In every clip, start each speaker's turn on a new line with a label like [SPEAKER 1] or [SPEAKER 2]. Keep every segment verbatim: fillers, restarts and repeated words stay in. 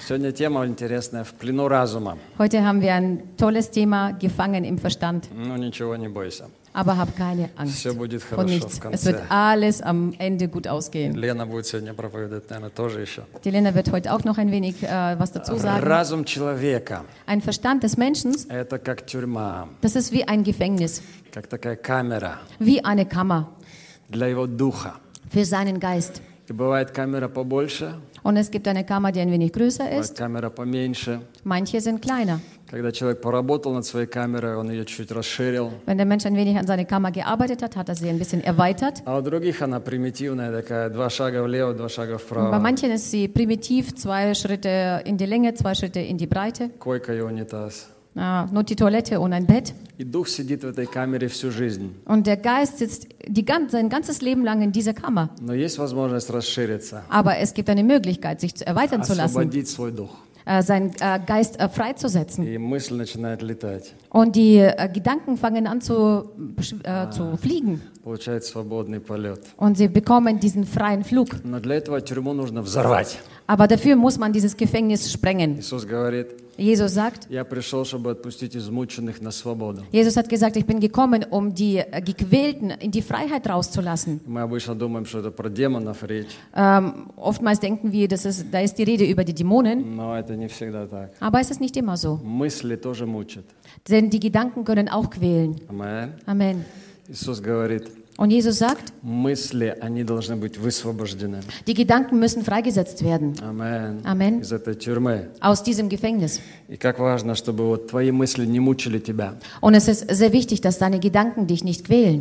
[SPEAKER 1] Сегодня тема интересная, в плену разума.
[SPEAKER 2] Heute haben wir ein tolles Thema, gefangen im Verstand.
[SPEAKER 1] Ну ничего, не бойся.
[SPEAKER 2] Aber hab keine Angst
[SPEAKER 1] Все будет
[SPEAKER 2] vor
[SPEAKER 1] хорошо
[SPEAKER 2] nichts.
[SPEAKER 1] в
[SPEAKER 2] Es wird
[SPEAKER 1] конце.
[SPEAKER 2] alles am Ende gut ausgehen.
[SPEAKER 1] Лена будет сегодня проповедовать, наверное, тоже еще.
[SPEAKER 2] Die Lena wird heute auch noch ein wenig äh, was dazu sagen.
[SPEAKER 1] Разум человека
[SPEAKER 2] Ein Verstand des Menschen,
[SPEAKER 1] – это как тюрьма,
[SPEAKER 2] das ist wie ein Gefängnis,
[SPEAKER 1] как такая камера
[SPEAKER 2] wie eine Kammer
[SPEAKER 1] для его духа.
[SPEAKER 2] für seinen Geist.
[SPEAKER 1] И бывает камера побольше,
[SPEAKER 2] Und es gibt eine Kammer, die ein wenig größer
[SPEAKER 1] бывает
[SPEAKER 2] ist.
[SPEAKER 1] камера поменьше.
[SPEAKER 2] Manche sind kleiner.
[SPEAKER 1] Когда человек поработал над своей камерой, он ее чуть расширил.
[SPEAKER 2] Wenn der Mensch ein wenig an seiner Kammer gearbeitet hat, hat er sie ein bisschen erweitert.
[SPEAKER 1] А у других она примитивная такая, два шага влево, два шага
[SPEAKER 2] Und bei
[SPEAKER 1] вправо.
[SPEAKER 2] manchen ist sie primitiv, zwei Schritte in die Länge, zwei Schritte in die Breite.
[SPEAKER 1] Койка и унитаз.
[SPEAKER 2] Ah, nur die Toilette und ein Bett.
[SPEAKER 1] И дух сидит в этой камере всю жизнь.
[SPEAKER 2] Und der Geist sitzt die, gan- sein ganzes Leben lang in dieser Kammer.
[SPEAKER 1] Но есть возможность расшириться,
[SPEAKER 2] Aber es gibt eine Möglichkeit, sich zu erweitern zu lassen,
[SPEAKER 1] освободить свой дух.
[SPEAKER 2] äh, seinen äh, Geist äh, freizusetzen.
[SPEAKER 1] И мысль начинает летать.
[SPEAKER 2] Und die äh, Gedanken fangen an zu, äh, zu fliegen.
[SPEAKER 1] Получает свободный полет.
[SPEAKER 2] Und sie bekommen diesen freien Flug.
[SPEAKER 1] Но для этого тюрьму нужно взорвать.
[SPEAKER 2] Aber dafür muss man dieses Gefängnis sprengen.
[SPEAKER 1] Иисус говорит,
[SPEAKER 2] Jesus sagt,
[SPEAKER 1] я пришел, чтобы отпустить измученных на свободу.
[SPEAKER 2] Jesus hat gesagt, ich bin gekommen, um die äh, Gequälten in die Freiheit rauszulassen.
[SPEAKER 1] Мы обычно думаем, что это про демонов речь,
[SPEAKER 2] Ähm, oftmals denken wir, das ist, da ist die Rede über die Dämonen,
[SPEAKER 1] но это не всегда так.
[SPEAKER 2] aber es ist nicht immer so.
[SPEAKER 1] Мысли тоже мучат.
[SPEAKER 2] Denn die Gedanken können auch quälen.
[SPEAKER 1] Амен.
[SPEAKER 2] Amen.
[SPEAKER 1] Иисус говорит,
[SPEAKER 2] Und Jesus sagt,
[SPEAKER 1] мысли, они должны быть высвобождены.
[SPEAKER 2] die Gedanken müssen freigesetzt werden
[SPEAKER 1] Амен.
[SPEAKER 2] Amen.
[SPEAKER 1] Из этой тюрьмы.
[SPEAKER 2] aus diesem Gefängnis.
[SPEAKER 1] И как важно, чтобы вот твои мысли не мучили тебя.
[SPEAKER 2] Und es ist sehr wichtig, dass deine Gedanken dich nicht quälen.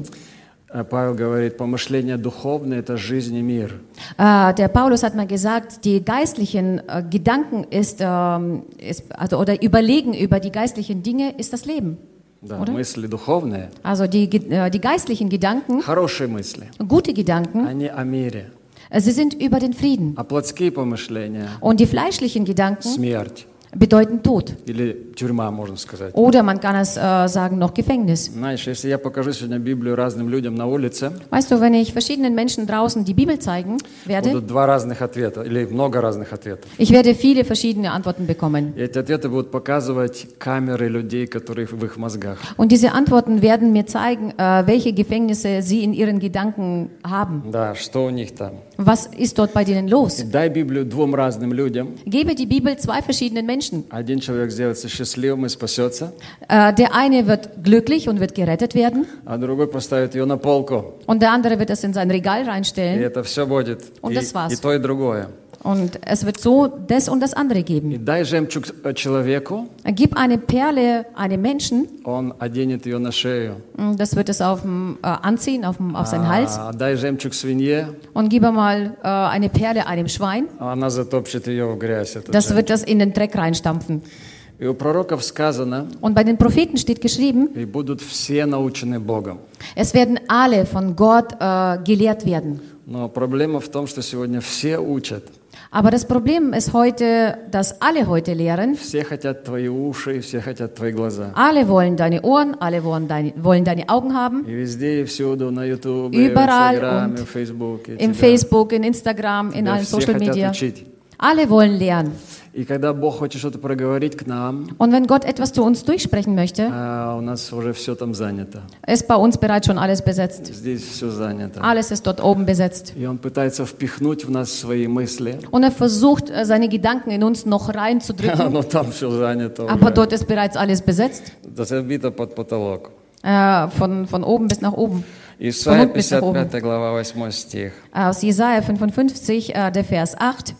[SPEAKER 1] А Павел говорит, помышления духовные – это жизнь и мир.
[SPEAKER 2] Äh, der Paulus hat mal gesagt, die geistlichen äh, Gedanken ist, ähm, ist also, oder Überlegen über die geistlichen Dinge ist das Leben.
[SPEAKER 1] Да,
[SPEAKER 2] Oder?
[SPEAKER 1] мысли духовные,
[SPEAKER 2] Also die, Ge- äh, die geistlichen Gedanken,
[SPEAKER 1] хорошие мысли,
[SPEAKER 2] gute Gedanken,
[SPEAKER 1] они о мире.
[SPEAKER 2] äh, sie sind über den Frieden.
[SPEAKER 1] А плотские помышления
[SPEAKER 2] Und die fleischlichen
[SPEAKER 1] –
[SPEAKER 2] Gedanken
[SPEAKER 1] смерть.
[SPEAKER 2] bedeuten Tod.
[SPEAKER 1] Или тюрьма, можно сказать.
[SPEAKER 2] Oder man kann es äh, sagen, noch Gefängnis.
[SPEAKER 1] Знаешь, если я покажу сегодня Библию разным людям на улице,
[SPEAKER 2] Weißt du, wenn ich verschiedenen Menschen draußen die Bibel zeigen werde,
[SPEAKER 1] будут два разных ответа, или много разных ответов.
[SPEAKER 2] ich werde viele verschiedene Antworten bekommen.
[SPEAKER 1] И эти ответы будут показывать камеры людей, которые в их мозгах.
[SPEAKER 2] Und diese Antworten werden mir zeigen, äh, welche Gefängnisse sie in ihren Gedanken haben.
[SPEAKER 1] Да, что у них там.
[SPEAKER 2] Was ist dort bei denen los?
[SPEAKER 1] И дай Библию двум разным людям.
[SPEAKER 2] Gebe die Bibel zwei verschiedenen Menschen.
[SPEAKER 1] Один человек сделается счастливым и спасется,
[SPEAKER 2] Äh, der eine wird glücklich und wird gerettet werden
[SPEAKER 1] а другой поставит ее на полку.
[SPEAKER 2] und der andere wird es in sein Regal
[SPEAKER 1] И
[SPEAKER 2] reinstellen
[SPEAKER 1] это все будет.
[SPEAKER 2] Und
[SPEAKER 1] И,
[SPEAKER 2] das war's.
[SPEAKER 1] и то, и другое.
[SPEAKER 2] und es wird so das und das andere
[SPEAKER 1] И
[SPEAKER 2] geben.
[SPEAKER 1] дай жемчуг человеку,
[SPEAKER 2] Gib eine Perle einem Menschen,
[SPEAKER 1] он оденет ее на шею.
[SPEAKER 2] das wird es auf dem, äh, anziehen, auf, dem, auf seinen Hals.
[SPEAKER 1] А дай жемчуг свинье,
[SPEAKER 2] Und gib mal äh, eine Perle einem Schwein,
[SPEAKER 1] а она затопчет ее в грязь. этот
[SPEAKER 2] das
[SPEAKER 1] жемчуг.
[SPEAKER 2] wird das in den Dreck reinstampfen.
[SPEAKER 1] И у пророков сказано,
[SPEAKER 2] Und bei den Propheten steht geschrieben,
[SPEAKER 1] и будут все научены Богом.
[SPEAKER 2] es werden alle von Gott äh, gelehrt werden.
[SPEAKER 1] Но проблема в том, что сегодня все учат.
[SPEAKER 2] Aber das Problem ist heute, dass alle heute lehren.
[SPEAKER 1] Все хотят твои уши, все хотят твои глаза.
[SPEAKER 2] Alle wollen deine Ohren, alle wollen deine, wollen deine Augen haben.
[SPEAKER 1] И везде, и всюду, на Ютубе,
[SPEAKER 2] Überall
[SPEAKER 1] в Инстаграме,
[SPEAKER 2] und
[SPEAKER 1] в Фейсбуке.
[SPEAKER 2] Im
[SPEAKER 1] тебя-
[SPEAKER 2] Facebook, in Instagram, in
[SPEAKER 1] тебя
[SPEAKER 2] allen
[SPEAKER 1] все
[SPEAKER 2] Social
[SPEAKER 1] хотят
[SPEAKER 2] Media.
[SPEAKER 1] учить.
[SPEAKER 2] Alle wollen lernen.
[SPEAKER 1] И когда Бог хочет что-то проговорить к нам,
[SPEAKER 2] Und wenn Gott etwas zu uns durchsprechen möchte,
[SPEAKER 1] а у нас уже все там занято.
[SPEAKER 2] ist bei uns bereits schon alles besetzt.
[SPEAKER 1] Здесь все занято.
[SPEAKER 2] Alles ist dort oben besetzt.
[SPEAKER 1] И Он пытается впихнуть в нас свои мысли,
[SPEAKER 2] Und er versucht, äh, seine Gedanken in uns noch reinzudrücken.
[SPEAKER 1] но там все занято
[SPEAKER 2] Aber
[SPEAKER 1] уже.
[SPEAKER 2] dort ist bereits alles besetzt.
[SPEAKER 1] Это забито под потолок.
[SPEAKER 2] Äh, von, von oben bis nach oben.
[SPEAKER 1] Исайя
[SPEAKER 2] Von bis nach oben.
[SPEAKER 1] пятьдесят пятая глава, восьмой стих.
[SPEAKER 2] Aus Jesaja fünfundfünfzig, äh, der Vers acht.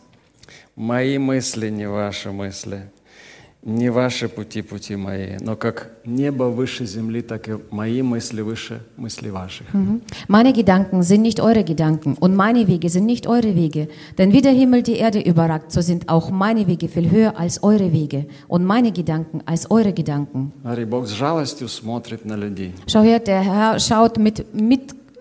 [SPEAKER 1] «Мои мысли не ваши мысли, не ваши пути пути мои, но как небо выше земли, так и мои мысли выше мысли ваших».
[SPEAKER 2] Mhm. Meine Gedanken sind nicht eure Gedanken und meine Wege sind nicht eure Wege. Denn wie der Himmel die Erde überragt, so sind auch meine Wege viel höher als eure Wege und meine Gedanken als eure Gedanken.
[SPEAKER 1] Смотри, Бог с жалостью смотрит на людей.
[SPEAKER 2] Schau her, der Herr schaut mit, mit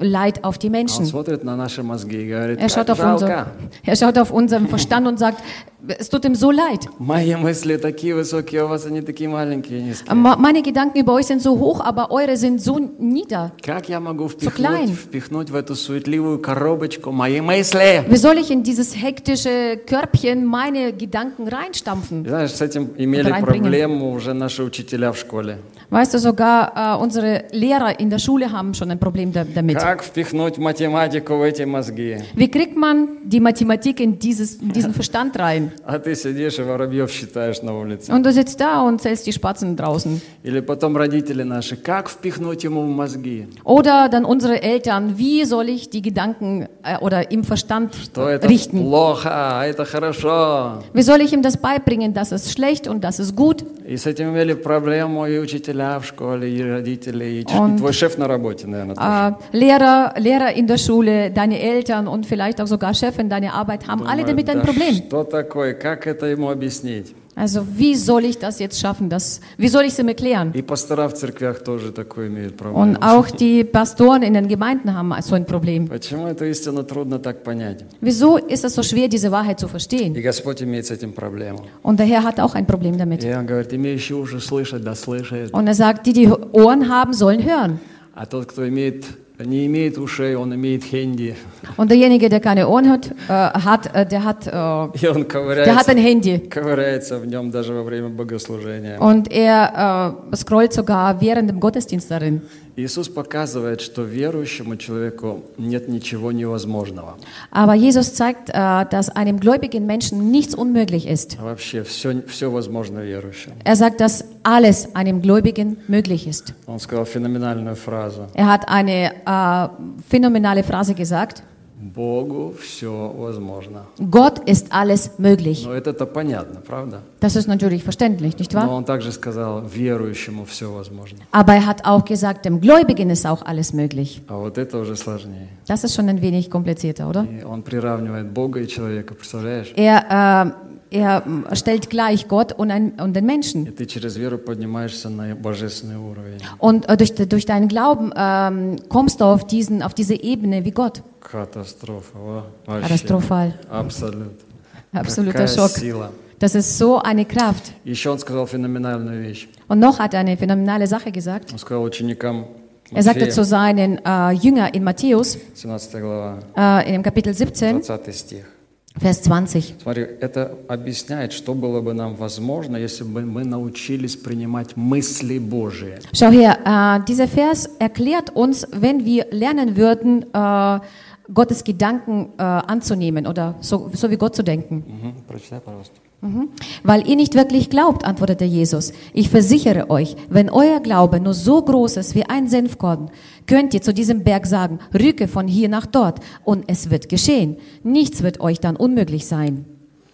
[SPEAKER 2] Leid auf die
[SPEAKER 1] Он
[SPEAKER 2] Menschen.
[SPEAKER 1] смотрит на наши мозги и говорит,
[SPEAKER 2] Er schaut,
[SPEAKER 1] как
[SPEAKER 2] auf unser,
[SPEAKER 1] жалко.
[SPEAKER 2] er schaut auf unseren Verstand und sagt, es tut ihm so leid.
[SPEAKER 1] Мои мысли такие высокие, у вас они такие маленькие, низкие.
[SPEAKER 2] Ma- Meine Gedanken über euch sind so hoch, aber eure sind so nieder.
[SPEAKER 1] Как я могу
[SPEAKER 2] klein.
[SPEAKER 1] впихнуть, впихнуть в эту суетливую коробочку мои мысли?
[SPEAKER 2] Wie soll ich in dieses hektische Körbchen meine Gedanken reinstampfen?
[SPEAKER 1] Знаешь, с этим имели
[SPEAKER 2] Reinbringen.
[SPEAKER 1] проблему уже наши учителя в школе.
[SPEAKER 2] Weißt du, sogar äh, unsere Lehrer in der Schule haben schon ein Problem da, damit.
[SPEAKER 1] Как впихнуть математику в эти мозги?
[SPEAKER 2] Wie kriegt man die Mathematik in, dieses, in diesen Verstand rein?
[SPEAKER 1] А ты сидишь и воробьев считаешь на улице.
[SPEAKER 2] Und du sitzt da und zählst die Spatzen draußen.
[SPEAKER 1] Или потом родители наши, как впихнуть ему в мозги?
[SPEAKER 2] Oder dann unsere Eltern, wie soll ich die Gedanken äh, oder im Verstand
[SPEAKER 1] Что это
[SPEAKER 2] richten?
[SPEAKER 1] плохо, а это хорошо.
[SPEAKER 2] Wie soll ich ihm das beibringen, dass es schlecht und dass es gut?
[SPEAKER 1] И с этим имели проблему и учителя в школе, и родители, и, ч-
[SPEAKER 2] Und-
[SPEAKER 1] и твой шеф на работе, наверное, тоже.
[SPEAKER 2] Äh, Lehrer, Lehrer in der Schule, deine Eltern und vielleicht auch sogar Chef in deiner Arbeit haben alle
[SPEAKER 1] Думаю,
[SPEAKER 2] damit ein
[SPEAKER 1] да
[SPEAKER 2] Problem.
[SPEAKER 1] что такое, как это ему объяснить?
[SPEAKER 2] Also wie soll ich das jetzt schaffen? Das, wie soll ich es ihm erklären?
[SPEAKER 1] И пастора в церквях тоже такое имеют
[SPEAKER 2] Und
[SPEAKER 1] проблему.
[SPEAKER 2] auch die Pastoren in den Gemeinden haben so ein Problem.
[SPEAKER 1] Почему эту истину трудно так понять?
[SPEAKER 2] Wieso ist es so schwer, diese Wahrheit zu
[SPEAKER 1] И
[SPEAKER 2] verstehen?
[SPEAKER 1] Господь имеет с этим проблему.
[SPEAKER 2] Und der Herr hat auch ein Problem damit.
[SPEAKER 1] И он говорит, имеющий уши слышать, да слышит.
[SPEAKER 2] Und er sagt, die, die Ohren haben, sollen hören.
[SPEAKER 1] А тот, кто имеет, не имеет ушей, он имеет хенди.
[SPEAKER 2] Und derjenige, der keine Ohren hat, äh, hat äh, der hat, äh,
[SPEAKER 1] И он
[SPEAKER 2] der hat
[SPEAKER 1] ковыряется,
[SPEAKER 2] ein Handy.
[SPEAKER 1] ковыряется в нем даже во время богослужения.
[SPEAKER 2] Und er äh, scrollt sogar während dem Gottesdienst darin.
[SPEAKER 1] Иисус показывает, что верующему человеку нет ничего невозможного.
[SPEAKER 2] Aber Jesus zeigt, äh, dass einem gläubigen Menschen nichts unmöglich ist.
[SPEAKER 1] А вообще все, все возможно верующему.
[SPEAKER 2] Er sagt, dass alles einem Gläubigen möglich ist.
[SPEAKER 1] Он сказал феноменальную фразу.
[SPEAKER 2] Er hat eine äh, phänomenale Phrase gesagt.
[SPEAKER 1] Богу все возможно.
[SPEAKER 2] Gott ist alles möglich.
[SPEAKER 1] Но это-то понятно, правда?
[SPEAKER 2] Das ist natürlich verständlich, nicht
[SPEAKER 1] Но
[SPEAKER 2] wahr?
[SPEAKER 1] он также сказал, верующему все возможно.
[SPEAKER 2] Aber er hat auch gesagt, dem Gläubigen ist auch alles möglich.
[SPEAKER 1] А вот это уже сложнее.
[SPEAKER 2] Das ist schon ein wenig komplizierter, oder?
[SPEAKER 1] И он приравнивает Бога и человека, представляешь?
[SPEAKER 2] Er, äh, er äh, stellt gleich Gott und, ein, und den
[SPEAKER 1] И
[SPEAKER 2] Menschen.
[SPEAKER 1] ты через веру поднимаешься на божественный уровень.
[SPEAKER 2] Und äh, durch, durch deinen Glauben ähm, kommst du auf, diesen, auf diese Ebene wie Gott.
[SPEAKER 1] Катастрофа. Во, вообще.
[SPEAKER 2] Katastrophal.
[SPEAKER 1] Абсолют.
[SPEAKER 2] Absoluter
[SPEAKER 1] Какая
[SPEAKER 2] Schock.
[SPEAKER 1] сила.
[SPEAKER 2] Das ist so eine Kraft.
[SPEAKER 1] Еще он сказал феноменальную вещь.
[SPEAKER 2] Und noch hat er eine phänomenale Sache gesagt.
[SPEAKER 1] Он сказал ученикам
[SPEAKER 2] Er sagte
[SPEAKER 1] Матфея,
[SPEAKER 2] zu seinen äh, Jüngern in Matthäus,
[SPEAKER 1] семнадцатая глава,
[SPEAKER 2] äh, in dem Kapitel siebzehn,
[SPEAKER 1] двадцатый стих.
[SPEAKER 2] Vers zwanzig.
[SPEAKER 1] Смотри, это объясняет, что было бы нам возможно, если бы мы научились принимать мысли Божии.
[SPEAKER 2] Schau her, äh, dieser Vers erklärt uns, wenn wir lernen würden, äh, Gottes Gedanken äh, anzunehmen oder so, so wie Gott zu denken.
[SPEAKER 1] Мгм. Прочитай, пожалуйста.
[SPEAKER 2] Mhm. Weil ihr nicht wirklich glaubt, antwortete Jesus. Ich versichere euch, wenn euer Glaube nur so groß ist wie ein Senfkorn, könnt ihr zu diesem Berg sagen, rücke von hier nach dort und es wird geschehen. Nichts wird euch dann unmöglich sein.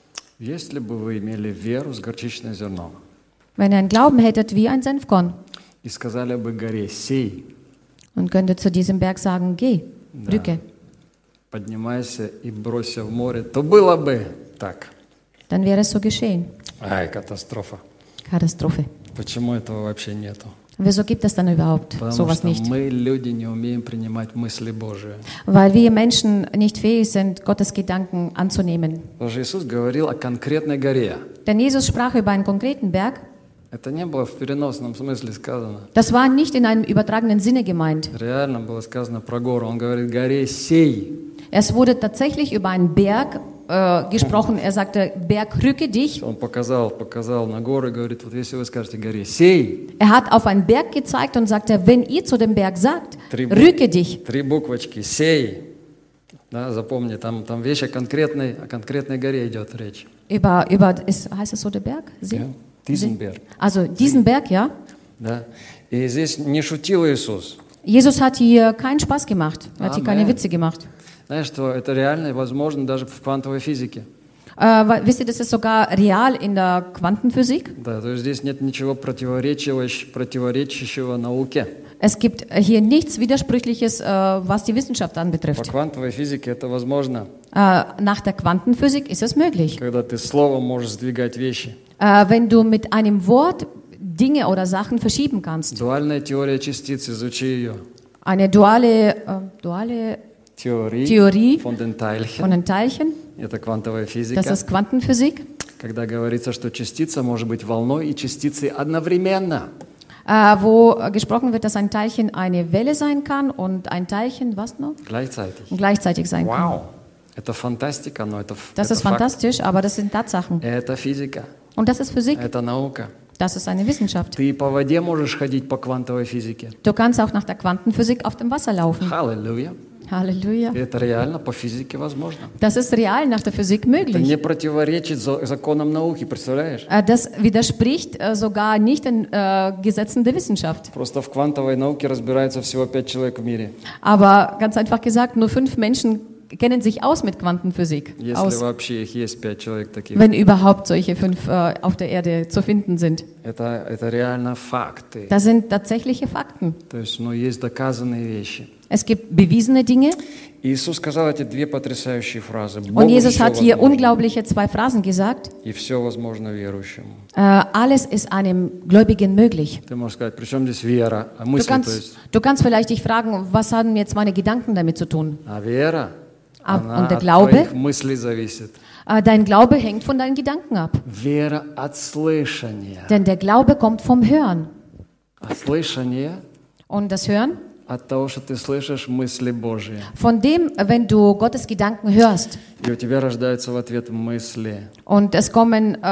[SPEAKER 1] Если бы вы имели веру с горчичное зерно
[SPEAKER 2] Wenn ihr einen Glauben hättet wie ein Senfkorn
[SPEAKER 1] и сказали бы горе, сей,
[SPEAKER 2] und könntet zu diesem Berg sagen, geh, rücke,
[SPEAKER 1] поднимайся и бросься в море, то было бы так.
[SPEAKER 2] dann wäre es so geschehen.
[SPEAKER 1] Ай, катастрофа.
[SPEAKER 2] Katastrophe.
[SPEAKER 1] Почему этого вообще нету?
[SPEAKER 2] Wieso gibt es dann überhaupt
[SPEAKER 1] Потому
[SPEAKER 2] sowas
[SPEAKER 1] что
[SPEAKER 2] nicht?
[SPEAKER 1] мы, люди, не умеем принимать мысли Божии.
[SPEAKER 2] Weil wir Menschen nicht fähig sind, Gottes Gedanken anzunehmen.
[SPEAKER 1] Потому что Иисус говорил о конкретной горе.
[SPEAKER 2] Denn Jesus sprach über einen konkreten Berg.
[SPEAKER 1] Это не было в переносном смысле сказано.
[SPEAKER 2] Das war nicht in einem übertragenen Sinne gemeint.
[SPEAKER 1] Реально было сказано про гору. Он говорит, горе сей.
[SPEAKER 2] Es wurde tatsächlich über einen Berg äh, gesprochen. Er sagte, Berg, rücke dich.
[SPEAKER 1] Он показал, показал на гору и говорит, вот если вы скажете горе сей,
[SPEAKER 2] Er hat auf einen Berg gezeigt und sagte, wenn ihr zu dem Berg sagt,
[SPEAKER 1] Три бу-
[SPEAKER 2] rücke dich.
[SPEAKER 1] три буквочки, сей. Да, запомни, там, там вещь о конкретной, о конкретной горе идет речь.
[SPEAKER 2] Über, über ist, heißt es so der Berg? See?
[SPEAKER 1] Ja, diesen Berg.
[SPEAKER 2] Also diesen Berg, ja.
[SPEAKER 1] Да. И здесь не шутил Иисус.
[SPEAKER 2] Jesus hat hier keinen Spaß gemacht. Er hat hier keine
[SPEAKER 1] Amen.
[SPEAKER 2] Witze gemacht.
[SPEAKER 1] Знаешь, что это реально и возможно даже в квантовой физике.
[SPEAKER 2] Äh, weil, wisst ihr, das ist sogar real in der Quantenphysik.
[SPEAKER 1] Да, то есть здесь нет ничего противоречивающего, противоречащего науке.
[SPEAKER 2] Es gibt hier nichts Widersprüchliches, äh, was die Wissenschaft
[SPEAKER 1] По
[SPEAKER 2] anbetrifft.
[SPEAKER 1] квантовой физике это возможно,
[SPEAKER 2] Äh, nach der Quantenphysik ist es möglich.
[SPEAKER 1] когда ты словом можешь сдвигать вещи.
[SPEAKER 2] Äh, wenn du mit einem Wort Dinge oder Sachen verschieben kannst.
[SPEAKER 1] Дуальная теория частиц, изучи ее.
[SPEAKER 2] eine duale, äh, duale
[SPEAKER 1] теории
[SPEAKER 2] Theorie
[SPEAKER 1] von den Teilchen.
[SPEAKER 2] von den Teilchen.
[SPEAKER 1] Это квантовая физика.
[SPEAKER 2] Das ist Quantenphysik.
[SPEAKER 1] Когда говорится, что частица может быть волной и частицей одновременно.
[SPEAKER 2] Äh, wo äh, gesprochen wird, dass ein Teilchen eine Welle sein kann und ein Teilchen, was noch?
[SPEAKER 1] Gleichzeitig.
[SPEAKER 2] Gleichzeitig sein kann.
[SPEAKER 1] Вау! Это фантастика, но это,
[SPEAKER 2] Das
[SPEAKER 1] это
[SPEAKER 2] ist
[SPEAKER 1] факт.
[SPEAKER 2] fantastisch, aber das sind Tatsachen.
[SPEAKER 1] Это физика,
[SPEAKER 2] Und das ist Physik.
[SPEAKER 1] это наука.
[SPEAKER 2] Das ist eine Wissenschaft.
[SPEAKER 1] Ты по воде можешь ходить по квантовой физике.
[SPEAKER 2] Du kannst auch nach der Quantenphysik auf dem Wasser laufen.
[SPEAKER 1] Halleluja.
[SPEAKER 2] Halleluja.
[SPEAKER 1] Это реально по физике возможно.
[SPEAKER 2] Das ist real nach der Physik
[SPEAKER 1] Это
[SPEAKER 2] möglich.
[SPEAKER 1] не противоречит за- законам науки, представляешь?
[SPEAKER 2] Äh, Das widerspricht äh, sogar nicht den äh, Gesetzen der Wissenschaft.
[SPEAKER 1] Просто в квантовой науке разбирается всего пять человек в мире.
[SPEAKER 2] Aber ganz einfach gesagt, nur fünf Menschen kennen sich aus mit Quantenphysik.
[SPEAKER 1] Если
[SPEAKER 2] Aus,
[SPEAKER 1] вообще их есть пять человек таких.
[SPEAKER 2] wenn überhaupt solche fünf äh, auf der Erde zu finden sind.
[SPEAKER 1] Это, это реально факты.
[SPEAKER 2] Das sind tatsächliche Fakten.
[SPEAKER 1] То есть, ну, есть доказанные вещи.
[SPEAKER 2] Es gibt bewiesene Dinge.
[SPEAKER 1] Иисус сказал эти две потрясающие фразы.
[SPEAKER 2] Und
[SPEAKER 1] Богу
[SPEAKER 2] Jesus
[SPEAKER 1] все
[SPEAKER 2] hat hier
[SPEAKER 1] возможно,
[SPEAKER 2] unglaubliche zwei Phrasen gesagt.
[SPEAKER 1] и все возможно верующему.
[SPEAKER 2] Äh, alles ist einem Gläubigen möglich.
[SPEAKER 1] Ты можешь сказать, при чем здесь вера? А
[SPEAKER 2] Du
[SPEAKER 1] мысли, то
[SPEAKER 2] kannst,
[SPEAKER 1] есть,
[SPEAKER 2] du kannst vielleicht dich fragen, was haben jetzt meine Gedanken damit zu tun?
[SPEAKER 1] а вера,
[SPEAKER 2] А-
[SPEAKER 1] она
[SPEAKER 2] und der
[SPEAKER 1] от
[SPEAKER 2] Glaube?
[SPEAKER 1] твоих мыслей зависит.
[SPEAKER 2] Äh, dein Glaube hängt von deinen Gedanken ab.
[SPEAKER 1] Вера от слышания.
[SPEAKER 2] Denn der Glaube kommt vom Hören.
[SPEAKER 1] А слышание
[SPEAKER 2] Und das Hören?
[SPEAKER 1] от того, что ты слышишь мысли Божьи.
[SPEAKER 2] Von dem, wenn du Gottes Gedanken hörst.
[SPEAKER 1] И у тебя рождаются в ответ мысли,
[SPEAKER 2] Und es kommen äh,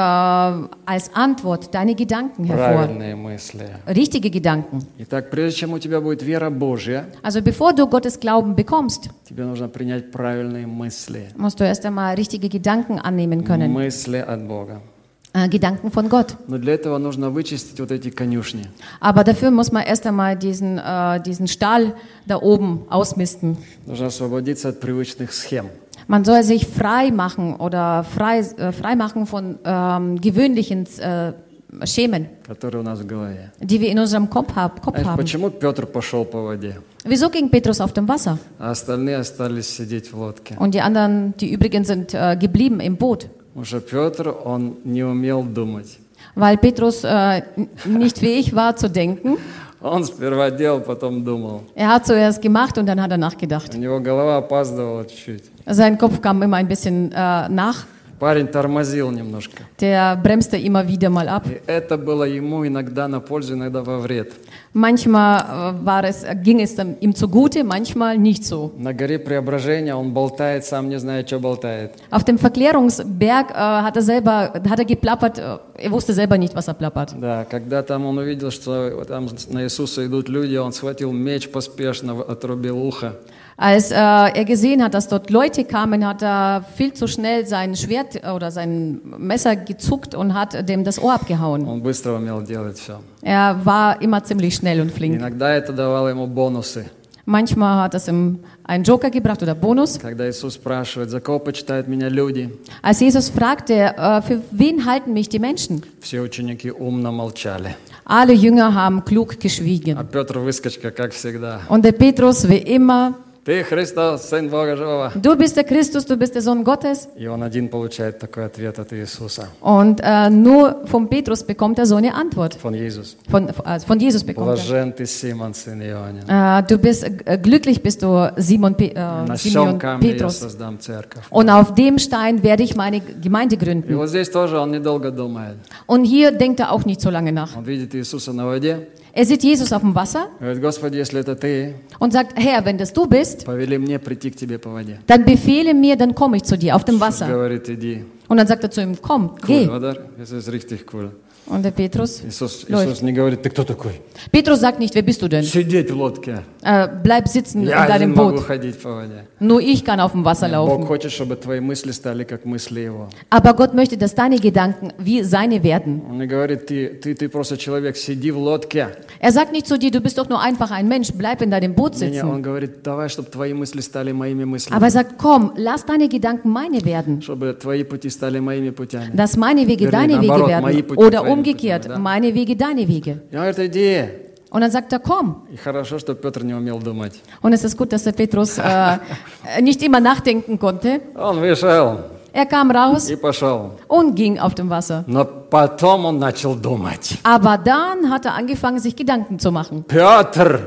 [SPEAKER 2] als Antwort deine Gedanken hervor.
[SPEAKER 1] правильные мысли.
[SPEAKER 2] Richtige Gedanken.
[SPEAKER 1] Итак, прежде чем у тебя будет вера Божья,
[SPEAKER 2] Also bevor du Gottes Glauben bekommst,
[SPEAKER 1] тебе нужно принять правильные мысли.
[SPEAKER 2] musst du erst einmal richtige Gedanken annehmen können.
[SPEAKER 1] Мысли от Бога.
[SPEAKER 2] Äh, Gedanken von Gott.
[SPEAKER 1] Но для этого нужно вычистить вот эти конюшни.
[SPEAKER 2] Aber dafür muss man erst einmal diesen, äh, diesen Stall da oben ausmisten.
[SPEAKER 1] Нужно освободиться от привычных схем.
[SPEAKER 2] Man soll sich frei machen oder frei, äh, frei machen von ähm, gewöhnlichen äh, Schemen,
[SPEAKER 1] которые у нас в голове.
[SPEAKER 2] die wir in unserem Kopf, hab, Kopf
[SPEAKER 1] Знаешь,
[SPEAKER 2] haben.
[SPEAKER 1] почему Петр пошел по воде,
[SPEAKER 2] Wieso ging Petrus auf dem Wasser?
[SPEAKER 1] а остальные остались сидеть в лодке?
[SPEAKER 2] Und die anderen, die übrigen, sind äh, geblieben im Boot.
[SPEAKER 1] Потому что Петр, он не умел думать.
[SPEAKER 2] Weil Petrus äh, n- nicht fähig war zu denken.
[SPEAKER 1] Он сперва делал, потом думал.
[SPEAKER 2] Er hat zuerst gemacht und dann hat er nachgedacht.
[SPEAKER 1] У него голова опаздывала чуть-чуть.
[SPEAKER 2] Sein Kopf kam immer ein bisschen äh, nach.
[SPEAKER 1] Парень тормозил немножко.
[SPEAKER 2] Der bremste immer wieder mal ab.
[SPEAKER 1] И это было ему иногда на пользу, иногда во вред.
[SPEAKER 2] Manchmal äh, war es, ging es dann ihm zugute, manchmal nicht so.
[SPEAKER 1] На горе Преображения он болтает, сам не зная, что болтает.
[SPEAKER 2] Auf dem Verklärungsberg äh, hat er selber, hat er geplappert, äh, er wusste selber nicht, was er plappert.
[SPEAKER 1] Да, когда там он увидел, что там на Иисуса идут люди, он схватил меч поспешно, отрубил ухо.
[SPEAKER 2] Als äh, er gesehen hat, dass dort Leute kamen, hat er viel zu schnell sein Schwert oder sein Messer gezuckt und hat dem das Ohr abgehauen.
[SPEAKER 1] Он быстро умел делать все.
[SPEAKER 2] Er war immer ziemlich schnell und flink.
[SPEAKER 1] Иногда это давало ему бонусы.
[SPEAKER 2] Manchmal hat es ihm einen Joker gebracht oder Bonus.
[SPEAKER 1] Когда Иисус спрашивает, за кого почитают меня люди,
[SPEAKER 2] Als Jesus fragte, äh, für wen halten mich die Menschen?
[SPEAKER 1] все ученики умно молчали.
[SPEAKER 2] Alle Jünger haben klug
[SPEAKER 1] А
[SPEAKER 2] geschwiegen.
[SPEAKER 1] Петр выскочка, как всегда.
[SPEAKER 2] Und der Petrus, wie immer,
[SPEAKER 1] Ты Христос, Сын Бога Живого.
[SPEAKER 2] du bist der Christus, du bist der Sohn Gottes.
[SPEAKER 1] И он один получает такой ответ от Иисуса,
[SPEAKER 2] Und äh, nur von Petrus bekommt er so eine Antwort.
[SPEAKER 1] von Jesus.
[SPEAKER 2] Von, äh, von Jesus bekommt
[SPEAKER 1] Блажен ты, Симон, сын Ионин.
[SPEAKER 2] er. Äh, du bist äh, glücklich bist du, Simon, Pe äh,
[SPEAKER 1] На
[SPEAKER 2] Simeon
[SPEAKER 1] всем камне я
[SPEAKER 2] Petrus.
[SPEAKER 1] создам церковь.
[SPEAKER 2] Und auf dem Stein werde ich meine Gemeinde
[SPEAKER 1] И
[SPEAKER 2] gründen.
[SPEAKER 1] вот здесь тоже он недолго думает.
[SPEAKER 2] Und hier denkt er auch nicht so lange nach.
[SPEAKER 1] Он видит Иисуса на воде.
[SPEAKER 2] Er sieht Jesus auf dem Wasser
[SPEAKER 1] Говорит, Господи, если это ты,
[SPEAKER 2] und sagt, Herr, wenn das du bist,
[SPEAKER 1] повели мне прийти к тебе по воде.
[SPEAKER 2] dann befehle mir, dann komme ich zu dir auf dem
[SPEAKER 1] Иисус
[SPEAKER 2] Wasser.
[SPEAKER 1] говорит, иди.
[SPEAKER 2] Und dann sagt er zu ihm, komm,
[SPEAKER 1] Cool,
[SPEAKER 2] geh.
[SPEAKER 1] oder? Das ist richtig cool.
[SPEAKER 2] Und der Petrus
[SPEAKER 1] Иисус,
[SPEAKER 2] läuft.
[SPEAKER 1] Иисус не говорит, ты кто такой?
[SPEAKER 2] Petrus sagt nicht, wer bist du denn?
[SPEAKER 1] Сидеть в лодке.
[SPEAKER 2] Äh, bleib sitzen in
[SPEAKER 1] Я один
[SPEAKER 2] deinem
[SPEAKER 1] могу
[SPEAKER 2] Boot.
[SPEAKER 1] ходить по воде.
[SPEAKER 2] Nur ich kann auf dem Wasser
[SPEAKER 1] Бог
[SPEAKER 2] laufen.
[SPEAKER 1] хочет, чтобы твои мысли стали как мысли Его.
[SPEAKER 2] Aber Gott möchte, dass deine Gedanken wie seine werden.
[SPEAKER 1] Он не говорит, ты, ты, ты просто человек, сиди в лодке.
[SPEAKER 2] Er sagt nicht zu dir, du bist doch nur einfach ein Mensch, bleib in deinem Boot
[SPEAKER 1] Не, не, он
[SPEAKER 2] sitzen.
[SPEAKER 1] говорит, давай, чтобы твои мысли стали моими мыслями.
[SPEAKER 2] Aber er sagt, komm, lass deine Gedanken meine werden.
[SPEAKER 1] Чтобы твои пути стали моими путями.
[SPEAKER 2] Dass meine Wege
[SPEAKER 1] Вернее,
[SPEAKER 2] deine Wege
[SPEAKER 1] наоборот, мои
[SPEAKER 2] werden.
[SPEAKER 1] пути
[SPEAKER 2] Oder
[SPEAKER 1] твоими
[SPEAKER 2] umgekehrt,
[SPEAKER 1] путями, да?
[SPEAKER 2] meine Wege deine Wege.
[SPEAKER 1] И он говорит, иди.
[SPEAKER 2] Und dann sagt er, komm.
[SPEAKER 1] И хорошо, что Петр не умел думать.
[SPEAKER 2] Und es ist gut, dass der Petrus äh, nicht immer nachdenken konnte.
[SPEAKER 1] Он вышел
[SPEAKER 2] Er kam raus
[SPEAKER 1] и пошел.
[SPEAKER 2] und ging auf dem Wasser.
[SPEAKER 1] Но потом он начал думать.
[SPEAKER 2] Aber dann hat er angefangen, sich Gedanken zu machen.
[SPEAKER 1] Петр,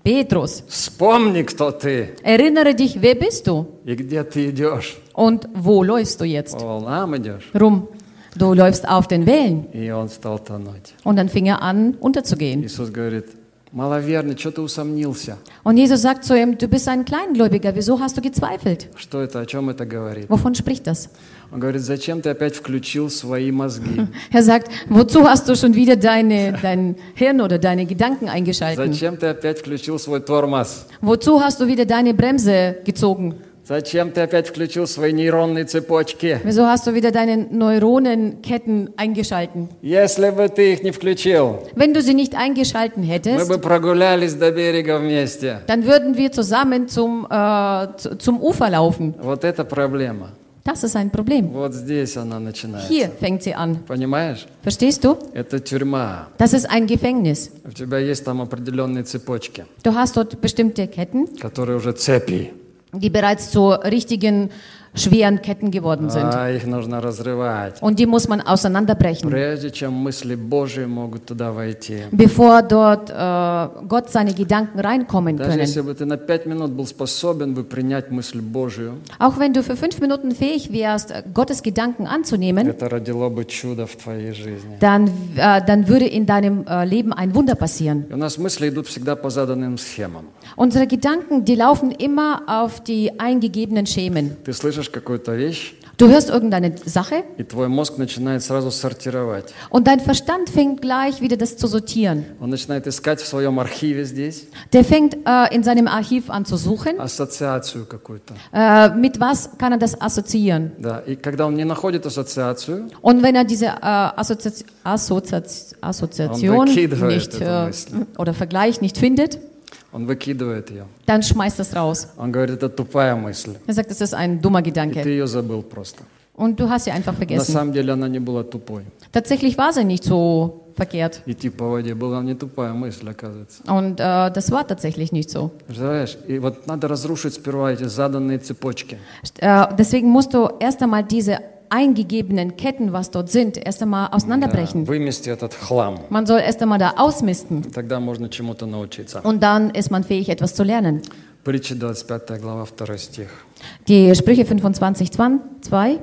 [SPEAKER 2] Petrus,
[SPEAKER 1] вспомни, кто ты
[SPEAKER 2] erinnere dich, wer bist du
[SPEAKER 1] и где ты идешь.
[SPEAKER 2] und wo läufst du jetzt
[SPEAKER 1] По волнам идешь.
[SPEAKER 2] rum? Du läufst auf den Wellen.
[SPEAKER 1] И он стал тонуть.
[SPEAKER 2] Und dann fing er an, unterzugehen.
[SPEAKER 1] Иисус говорит, маловерный, что ты усомнился?
[SPEAKER 2] Und Jesus sagt zu ihm, du bist ein Kleingläubiger, wieso hast du gezweifelt?
[SPEAKER 1] Что это, о чем это говорит?
[SPEAKER 2] Wovon spricht das?
[SPEAKER 1] Он говорит, зачем ты опять включил свои мозги?
[SPEAKER 2] Er sagt, wozu hast du schon wieder deine, dein Hirn oder deine Gedanken eingeschaltet?
[SPEAKER 1] Зачем ты опять включил свой тормоз?
[SPEAKER 2] Wozu hast du wieder deine Bremse gezogen?
[SPEAKER 1] Зачем ты опять включил свои нейронные цепочки?
[SPEAKER 2] Wieso hast du wieder deine Neuronenketten eingeschalten?
[SPEAKER 1] Если бы ты их не включил,
[SPEAKER 2] Wenn du sie nicht eingeschalten
[SPEAKER 1] мы
[SPEAKER 2] hättest,
[SPEAKER 1] бы прогулялись до берега вместе.
[SPEAKER 2] dann würden wir zusammen zum, äh, zu- zum Ufer laufen.
[SPEAKER 1] Вот это проблема.
[SPEAKER 2] Das ist ein Problem.
[SPEAKER 1] Вот здесь она начинается.
[SPEAKER 2] Hier fängt sie an.
[SPEAKER 1] Понимаешь?
[SPEAKER 2] Verstehst du?
[SPEAKER 1] Это тюрьма.
[SPEAKER 2] Das ist ein Gefängnis.
[SPEAKER 1] У тебя есть там определенные цепочки,
[SPEAKER 2] Du hast dort bestimmte Ketten,
[SPEAKER 1] которые уже цепи.
[SPEAKER 2] die bereits zu richtigen schweren Ketten geworden sind.
[SPEAKER 1] А их нужно разрывать.
[SPEAKER 2] Und die muss man auseinanderbrechen,
[SPEAKER 1] Прежде чем мысли Божьи могут туда войти.
[SPEAKER 2] bevor dort äh, Gott seine Gedanken reinkommen
[SPEAKER 1] Даже если
[SPEAKER 2] können.
[SPEAKER 1] бы ты на пять минут был способен бы принять мысль Божью,
[SPEAKER 2] Auch wenn du für fünf Minuten fähig wärst, Gottes Gedanken anzunehmen,
[SPEAKER 1] это родило бы чудо в твоей жизни.
[SPEAKER 2] dann, äh, dann würde in deinem äh, Leben ein Wunder passieren.
[SPEAKER 1] И у нас мысли идут всегда по заданным схемам.
[SPEAKER 2] Unsere Gedanken, die laufen immer auf die eingegebenen Schemen.
[SPEAKER 1] Ты слышишь какую-то вещь,
[SPEAKER 2] Du hörst irgendeine Sache
[SPEAKER 1] и твой мозг начинает сразу сортировать.
[SPEAKER 2] und dein Verstand fängt gleich wieder das zu sortieren.
[SPEAKER 1] Он начинает искать в своем архиве здесь
[SPEAKER 2] Der fängt äh, in seinem Archiv an zu suchen.
[SPEAKER 1] ассоциацию какую-то.
[SPEAKER 2] Äh, mit was kann er das assoziieren?
[SPEAKER 1] Да. И когда он не находит ассоциацию,
[SPEAKER 2] Und wenn er diese äh, Assozi Assozi Assoziation
[SPEAKER 1] Он выкидывает
[SPEAKER 2] nicht
[SPEAKER 1] эту
[SPEAKER 2] äh,
[SPEAKER 1] мысль.
[SPEAKER 2] oder Vergleich nicht findet,
[SPEAKER 1] он выкидывает ее.
[SPEAKER 2] dann schmeißt er es raus.
[SPEAKER 1] Он говорит, это тупая мысль.
[SPEAKER 2] Er sagt, das ist ein dummer
[SPEAKER 1] И ты
[SPEAKER 2] Gedanke.
[SPEAKER 1] ее забыл просто.
[SPEAKER 2] Und du hast sie einfach
[SPEAKER 1] На
[SPEAKER 2] vergessen.
[SPEAKER 1] самом деле она не была тупой.
[SPEAKER 2] Tatsächlich war sie nicht so verkehrt.
[SPEAKER 1] Идти по воде была не тупая мысль, оказывается.
[SPEAKER 2] Und äh, das war tatsächlich nicht so.
[SPEAKER 1] Представляешь? И вот надо разрушить сперва эти заданные цепочки.
[SPEAKER 2] Äh, deswegen musst du erst einmal diese eingegebenen Ketten, was dort sind, erst einmal
[SPEAKER 1] Да,
[SPEAKER 2] auseinanderbrechen.
[SPEAKER 1] вымести этот хлам.
[SPEAKER 2] Man soll erst einmal da ausmisten.
[SPEAKER 1] Тогда можно чему-то научиться.
[SPEAKER 2] Und dann ist man fähig, etwas zu lernen.
[SPEAKER 1] Притча двадцать пятая глава, второй стих.
[SPEAKER 2] Die Sprüche fünfundzwanzig, zwei.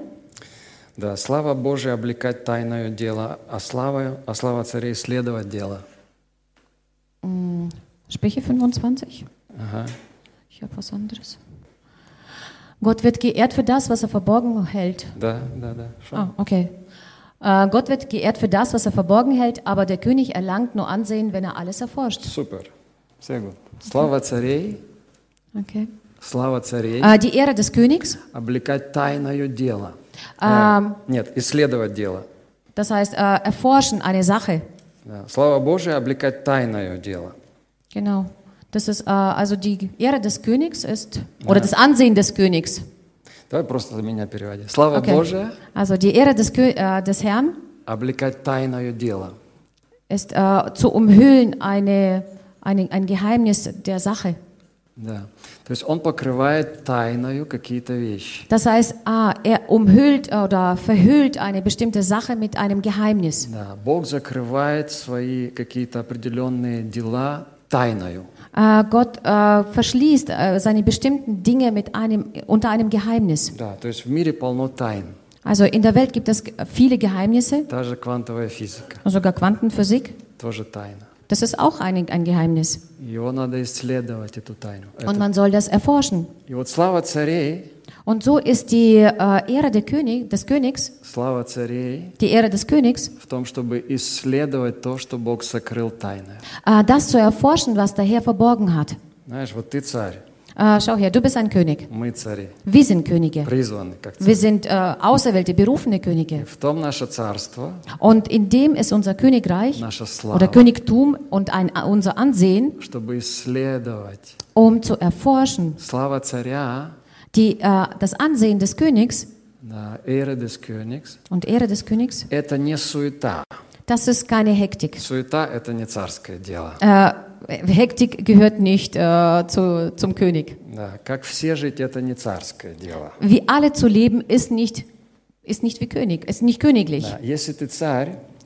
[SPEAKER 1] Да, слава Божия облекать тайное дело, а слава, а слава царей следовать дело.
[SPEAKER 2] Sprüche fünfundzwanzig?
[SPEAKER 1] Ага.
[SPEAKER 2] Ich habe was anderes. Gott wird geehrt für das, was er verborgen hält.
[SPEAKER 1] Да, да, да. Шо?
[SPEAKER 2] Ah, okay. Äh, Gott wird geehrt für das, was er verborgen hält, aber der König erlangt nur Ansehen, wenn er alles erforscht.
[SPEAKER 1] Супер. Все gut. Слава царей,
[SPEAKER 2] Okay.
[SPEAKER 1] слава царей
[SPEAKER 2] Äh, die Ehre des Königs,
[SPEAKER 1] облекать тайное дело.
[SPEAKER 2] ähm,
[SPEAKER 1] Э, нет, исследовать дело.
[SPEAKER 2] das heißt äh, erforschen eine Sache.
[SPEAKER 1] Да. Слава Божия облекать тайное дело.
[SPEAKER 2] Genau. Das ist äh, also die Ehre des Königs ist oder das Ansehen des Königs.
[SPEAKER 1] Давай просто за меня переводи. Слава
[SPEAKER 2] Okay.
[SPEAKER 1] Божия
[SPEAKER 2] Also die Ehre des, Kö äh, des Herrn
[SPEAKER 1] облекать тайное дело.
[SPEAKER 2] ist äh, zu umhüllen eine, eine, ein Geheimnis der Sache.
[SPEAKER 1] Да. То есть он покрывает тайною какие-то вещи.
[SPEAKER 2] Das heißt, ah, er umhüllt oder verhüllt eine bestimmte Sache mit einem Geheimnis.
[SPEAKER 1] Да. Бог закрывает свои какие-то определенные дела тайною.
[SPEAKER 2] Äh, Gott äh, verschließt äh, seine bestimmten Dinge mit einem, unter einem Geheimnis.
[SPEAKER 1] Да. То есть в мире полно тайн.
[SPEAKER 2] Also in der Welt gibt es viele Geheimnisse,
[SPEAKER 1] Та же квантовая физика,
[SPEAKER 2] sogar Quantenphysik.
[SPEAKER 1] тоже тайна.
[SPEAKER 2] Das ist auch ein, ein Geheimnis.
[SPEAKER 1] Его надо исследовать, эту тайну.
[SPEAKER 2] Und
[SPEAKER 1] Это-
[SPEAKER 2] man soll das erforschen.
[SPEAKER 1] И вот слава царей,
[SPEAKER 2] Und so ist die äh, Ehre der König, des Königs,
[SPEAKER 1] слава царей
[SPEAKER 2] die Ehre des Königs,
[SPEAKER 1] в том, чтобы исследовать то, что Бог сокрыл тайное.
[SPEAKER 2] äh, das zu erforschen, was der Herr verborgen hat.
[SPEAKER 1] Знаешь, вот ты царь,
[SPEAKER 2] Äh, schau her, du bist ein König.
[SPEAKER 1] мы цари,
[SPEAKER 2] Wir sind Könige.
[SPEAKER 1] призваны как царь.
[SPEAKER 2] Wir sind äh, auserwählte, berufene Könige.
[SPEAKER 1] В том наше царство,
[SPEAKER 2] Und in dem ist unser Königreich
[SPEAKER 1] наша
[SPEAKER 2] oder
[SPEAKER 1] слава,
[SPEAKER 2] Königtum und ein, unser Ansehen,
[SPEAKER 1] чтобы исследовать.
[SPEAKER 2] um zu erforschen.
[SPEAKER 1] Слава царя,
[SPEAKER 2] Die, äh, das Ansehen des Königs
[SPEAKER 1] да, эра des Königs,
[SPEAKER 2] und Ehre des Königs,
[SPEAKER 1] это не суета.
[SPEAKER 2] das ist keine Hektik.
[SPEAKER 1] Суета – это не царское дело.
[SPEAKER 2] Äh, Hektik gehört nicht äh, zu, zum König.
[SPEAKER 1] Да, как все жить – это не царское дело.
[SPEAKER 2] Wie alle zu leben, ist nicht, ist nicht wie König, ist nicht königlich.
[SPEAKER 1] Да, если ты царь,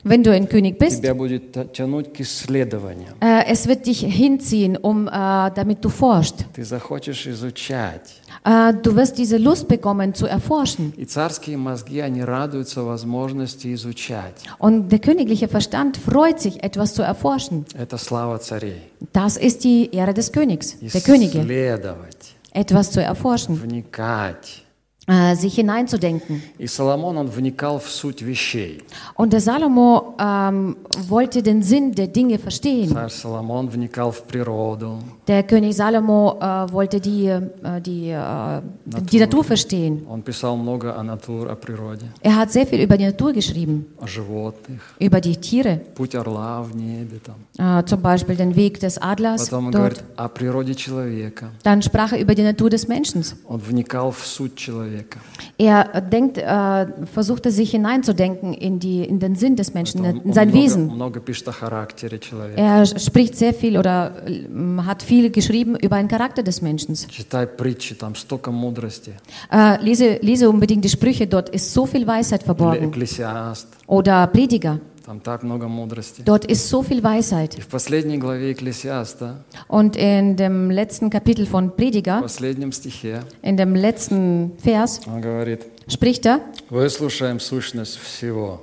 [SPEAKER 2] Wenn du ein König bist,
[SPEAKER 1] тебя будет та- тянуть к исследованию.
[SPEAKER 2] äh, es wird dich hinziehen, um, äh, damit du forschst.
[SPEAKER 1] Ты захочешь изучать.
[SPEAKER 2] Äh, du wirst diese Lust bekommen zu erforschen.
[SPEAKER 1] И царские мозги, они радуются возможности изучать.
[SPEAKER 2] Und der königliche Verstand freut sich, etwas zu erforschen.
[SPEAKER 1] Это слава царей.
[SPEAKER 2] Das ist die Ehre des Königs, der Könige.
[SPEAKER 1] Исследовать,
[SPEAKER 2] Etwas zu erforschen,
[SPEAKER 1] вникать.
[SPEAKER 2] äh, sich hineinzudenken.
[SPEAKER 1] И Соломон, он вникал в суть вещей.
[SPEAKER 2] Und der Salomo ähm, wollte den Sinn der Dinge verstehen.
[SPEAKER 1] Царь Соломон вникал в природу,
[SPEAKER 2] Der König Salomo äh, wollte die, äh, die, äh, die Natur verstehen.
[SPEAKER 1] он писал много о натуре, о природе,
[SPEAKER 2] Er hat sehr viel über die Natur geschrieben,
[SPEAKER 1] о животных,
[SPEAKER 2] über die Tiere,
[SPEAKER 1] путь орла в небе там.
[SPEAKER 2] äh, zum Beispiel den Weg des Adlers
[SPEAKER 1] Потом он
[SPEAKER 2] dort.
[SPEAKER 1] говорит о природе человека.
[SPEAKER 2] Dann sprach er über die Natur des Menschen.
[SPEAKER 1] Он вникал в суть человека.
[SPEAKER 2] Er denkt, äh, versuchte sich hineinzudenken in, die, in den Sinn des Menschen,
[SPEAKER 1] Он
[SPEAKER 2] in sein
[SPEAKER 1] много,
[SPEAKER 2] Wesen.
[SPEAKER 1] много пишет о характере человека.
[SPEAKER 2] Er spricht sehr viel oder äh, hat viel geschrieben über den Charakter des Menschen.
[SPEAKER 1] Читай притчи, там столько мудрости.
[SPEAKER 2] Äh, lese, lese unbedingt die Sprüche, dort ist so viel Weisheit
[SPEAKER 1] Или
[SPEAKER 2] verborgen.
[SPEAKER 1] Экклесиаст,
[SPEAKER 2] Oder Prediger,
[SPEAKER 1] там так много мудрости.
[SPEAKER 2] dort ist so viel Weisheit.
[SPEAKER 1] И в последней главе Экклесиаста,
[SPEAKER 2] Und in dem letzten Kapitel von
[SPEAKER 1] в
[SPEAKER 2] Prediger,
[SPEAKER 1] последнем стихе,
[SPEAKER 2] in dem letzten Vers,
[SPEAKER 1] он говорит,
[SPEAKER 2] spricht er,
[SPEAKER 1] выслушаем сущность всего.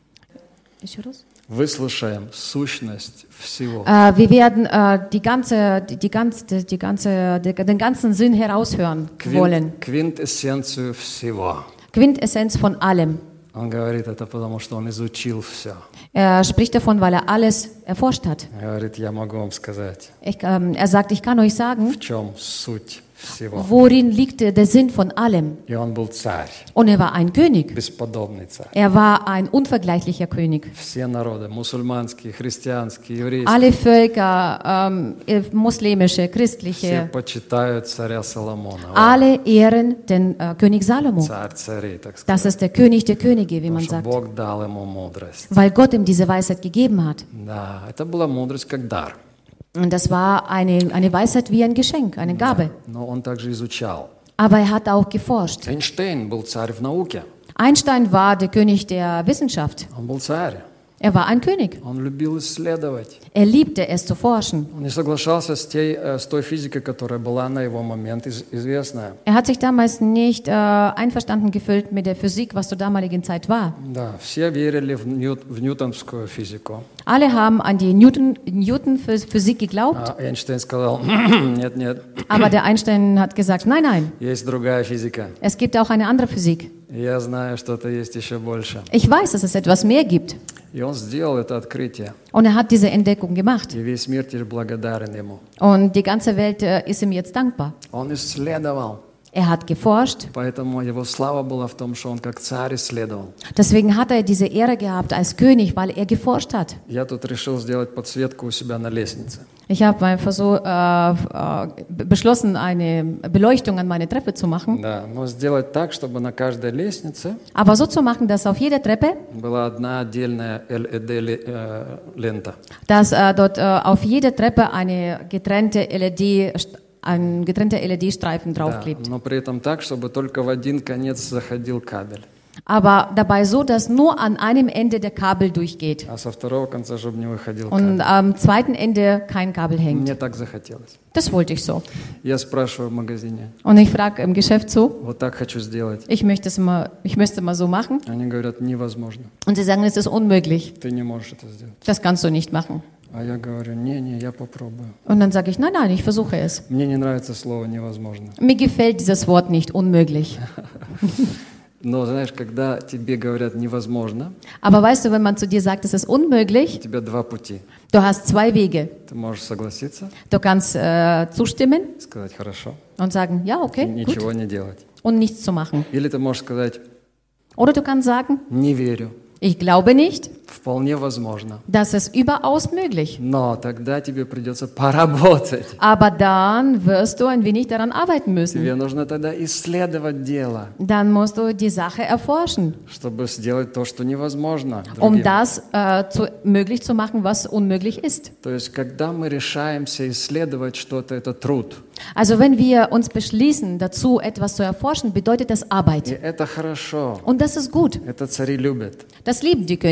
[SPEAKER 1] Выслушаем сущность всего.
[SPEAKER 2] äh, wir werden äh, die ganze, die, die ganze, die ganze, die, den ganzen Sinn heraushören wollen.
[SPEAKER 1] Квин- Квинтэссенцию всего.
[SPEAKER 2] Quintessenz von allem.
[SPEAKER 1] Он говорит это потому, что он изучил все.
[SPEAKER 2] Er spricht davon, weil er alles erforscht hat.
[SPEAKER 1] Говорит, я могу вам сказать,
[SPEAKER 2] Ich, ähm, er sagt, ich kann euch sagen,
[SPEAKER 1] в чем суть всего.
[SPEAKER 2] worin liegt der Sinn von allem.
[SPEAKER 1] И он был царь,
[SPEAKER 2] Und er war ein König.
[SPEAKER 1] бесподобный царь.
[SPEAKER 2] Er war ein unvergleichlicher König.
[SPEAKER 1] Все народы, мусульманские, христианские, еврейские,
[SPEAKER 2] Alle Völker, ähm, muslimische,
[SPEAKER 1] все
[SPEAKER 2] christliche,
[SPEAKER 1] почитают царя Соломона. Он
[SPEAKER 2] alle ehren den äh, König Salomo.
[SPEAKER 1] царь царей, так сказать.
[SPEAKER 2] Das ist der König der Könige, wie
[SPEAKER 1] Потому
[SPEAKER 2] man
[SPEAKER 1] что
[SPEAKER 2] sagt.
[SPEAKER 1] Бог дал ему мудрость.
[SPEAKER 2] Weil Gott ihm diese Weisheit gegeben hat.
[SPEAKER 1] Да, это была мудрость как дар.
[SPEAKER 2] Und das war eine, eine Weisheit wie ein Geschenk, eine Gabe.
[SPEAKER 1] Но он также изучал.
[SPEAKER 2] Aber er hat auch geforscht.
[SPEAKER 1] Эйнштейн был царь в науке.
[SPEAKER 2] Einstein war der König der Wissenschaft.
[SPEAKER 1] Он был царь.
[SPEAKER 2] Er war ein König.
[SPEAKER 1] Он любил исследовать.
[SPEAKER 2] Er liebte es zu forschen.
[SPEAKER 1] Он не соглашался с, той, э, с той физикой, которая была на его момент из- известная.
[SPEAKER 2] Er hat sich damals nicht äh, einverstanden gefühlt mit der Physik, was zur damaligen Zeit war.
[SPEAKER 1] Да, все верили в, Ньют- в ньютонскую физику.
[SPEAKER 2] Alle haben an die Newton, Newton-Physik geglaubt,
[SPEAKER 1] А Эйнштейн сказал, нет, нет,
[SPEAKER 2] aber der Einstein hat gesagt, nein, nein,
[SPEAKER 1] есть другая физика.
[SPEAKER 2] es gibt auch eine andere Physik.
[SPEAKER 1] Я знаю, что-то есть еще больше.
[SPEAKER 2] Ich weiß, dass es etwas mehr gibt.
[SPEAKER 1] И он сделал это открытие.
[SPEAKER 2] Und er hat diese Entdeckung gemacht.
[SPEAKER 1] И весь мир теперь благодарен ему.
[SPEAKER 2] Und die ganze Welt äh, ist ihm jetzt dankbar.
[SPEAKER 1] Он исследовал.
[SPEAKER 2] Er hat geforscht,
[SPEAKER 1] Поэтому его слава была в том, что он как царь исследовал.
[SPEAKER 2] deswegen hat er diese Ehre gehabt als König, weil er geforscht hat.
[SPEAKER 1] Я тут решил сделать подсветку у себя на лестнице.
[SPEAKER 2] Ich habe einfach so äh, äh, beschlossen, eine Beleuchtung an meine Treppe zu machen.
[SPEAKER 1] Да, но сделать так, чтобы на каждой лестнице
[SPEAKER 2] Aber so zu machen, dass auf jeder Treppe,
[SPEAKER 1] была одна отдельная эл и ди-лента.
[SPEAKER 2] dass äh, dort äh, auf jeder Treppe eine getrennte L E D, ein getrennter L E D-Streifen
[SPEAKER 1] Да,
[SPEAKER 2] draufklebt.
[SPEAKER 1] но при этом так, чтобы только в один конец заходил кабель,
[SPEAKER 2] Aber dabei so, dass nur an einem Ende der Kabel durchgeht
[SPEAKER 1] а со второго конца, чтобы не выходил
[SPEAKER 2] und
[SPEAKER 1] кабель.
[SPEAKER 2] am zweiten Ende kein Kabel hängt.
[SPEAKER 1] Мне так захотелось.
[SPEAKER 2] Das wollte ich so.
[SPEAKER 1] Я спрашиваю в магазине,
[SPEAKER 2] Und ich frage im Geschäft so,
[SPEAKER 1] вот так хочу сделать.
[SPEAKER 2] ich möchte es mal, ich möchte es mal so machen.
[SPEAKER 1] Они говорят, невозможно.
[SPEAKER 2] Und sie sagen, es ist unmöglich.
[SPEAKER 1] Ты не можешь это сделать.
[SPEAKER 2] Das kannst du nicht machen.
[SPEAKER 1] А я говорю, не-не, я попробую.
[SPEAKER 2] Und dann sage ich, nein, nein, ich versuche es.
[SPEAKER 1] Мне не нравится слово невозможно.
[SPEAKER 2] Mir gefällt dieses Wort nicht, unmöglich.
[SPEAKER 1] Но знаешь, когда тебе говорят невозможно,
[SPEAKER 2] Aber weißt du, wenn man zu dir sagt, es ist
[SPEAKER 1] у
[SPEAKER 2] unmöglich,
[SPEAKER 1] тебя два пути.
[SPEAKER 2] du hast zwei Wege.
[SPEAKER 1] Ты можешь согласиться,
[SPEAKER 2] Du kannst äh, zustimmen
[SPEAKER 1] сказать хорошо,
[SPEAKER 2] und sagen, ja,
[SPEAKER 1] и
[SPEAKER 2] okay, gut,
[SPEAKER 1] ничего не делать.
[SPEAKER 2] und nichts zu machen.
[SPEAKER 1] Или ты можешь сказать,
[SPEAKER 2] Oder du kannst sagen,
[SPEAKER 1] не верю,
[SPEAKER 2] ich glaube nicht,
[SPEAKER 1] вполне возможно.
[SPEAKER 2] das ist überaus möglich.
[SPEAKER 1] Но тогда тебе придется поработать.
[SPEAKER 2] Aber dann wirst du ein wenig daran arbeiten müssen.
[SPEAKER 1] Тебе нужно тогда исследовать дело,
[SPEAKER 2] Dann musst du die Sache erforschen,
[SPEAKER 1] чтобы сделать то, что невозможно.
[SPEAKER 2] um
[SPEAKER 1] другим.
[SPEAKER 2] das äh, zu, möglich zu machen, was unmöglich ist.
[SPEAKER 1] То есть, когда мы решаемся исследовать что-то, это труд.
[SPEAKER 2] Also wenn wir uns beschließen, dazu etwas zu erforschen, bedeutet das
[SPEAKER 1] И
[SPEAKER 2] Arbeit.
[SPEAKER 1] это хорошо.
[SPEAKER 2] Und das ist gut.
[SPEAKER 1] Это цари любят.
[SPEAKER 2] Das lieben die Könige.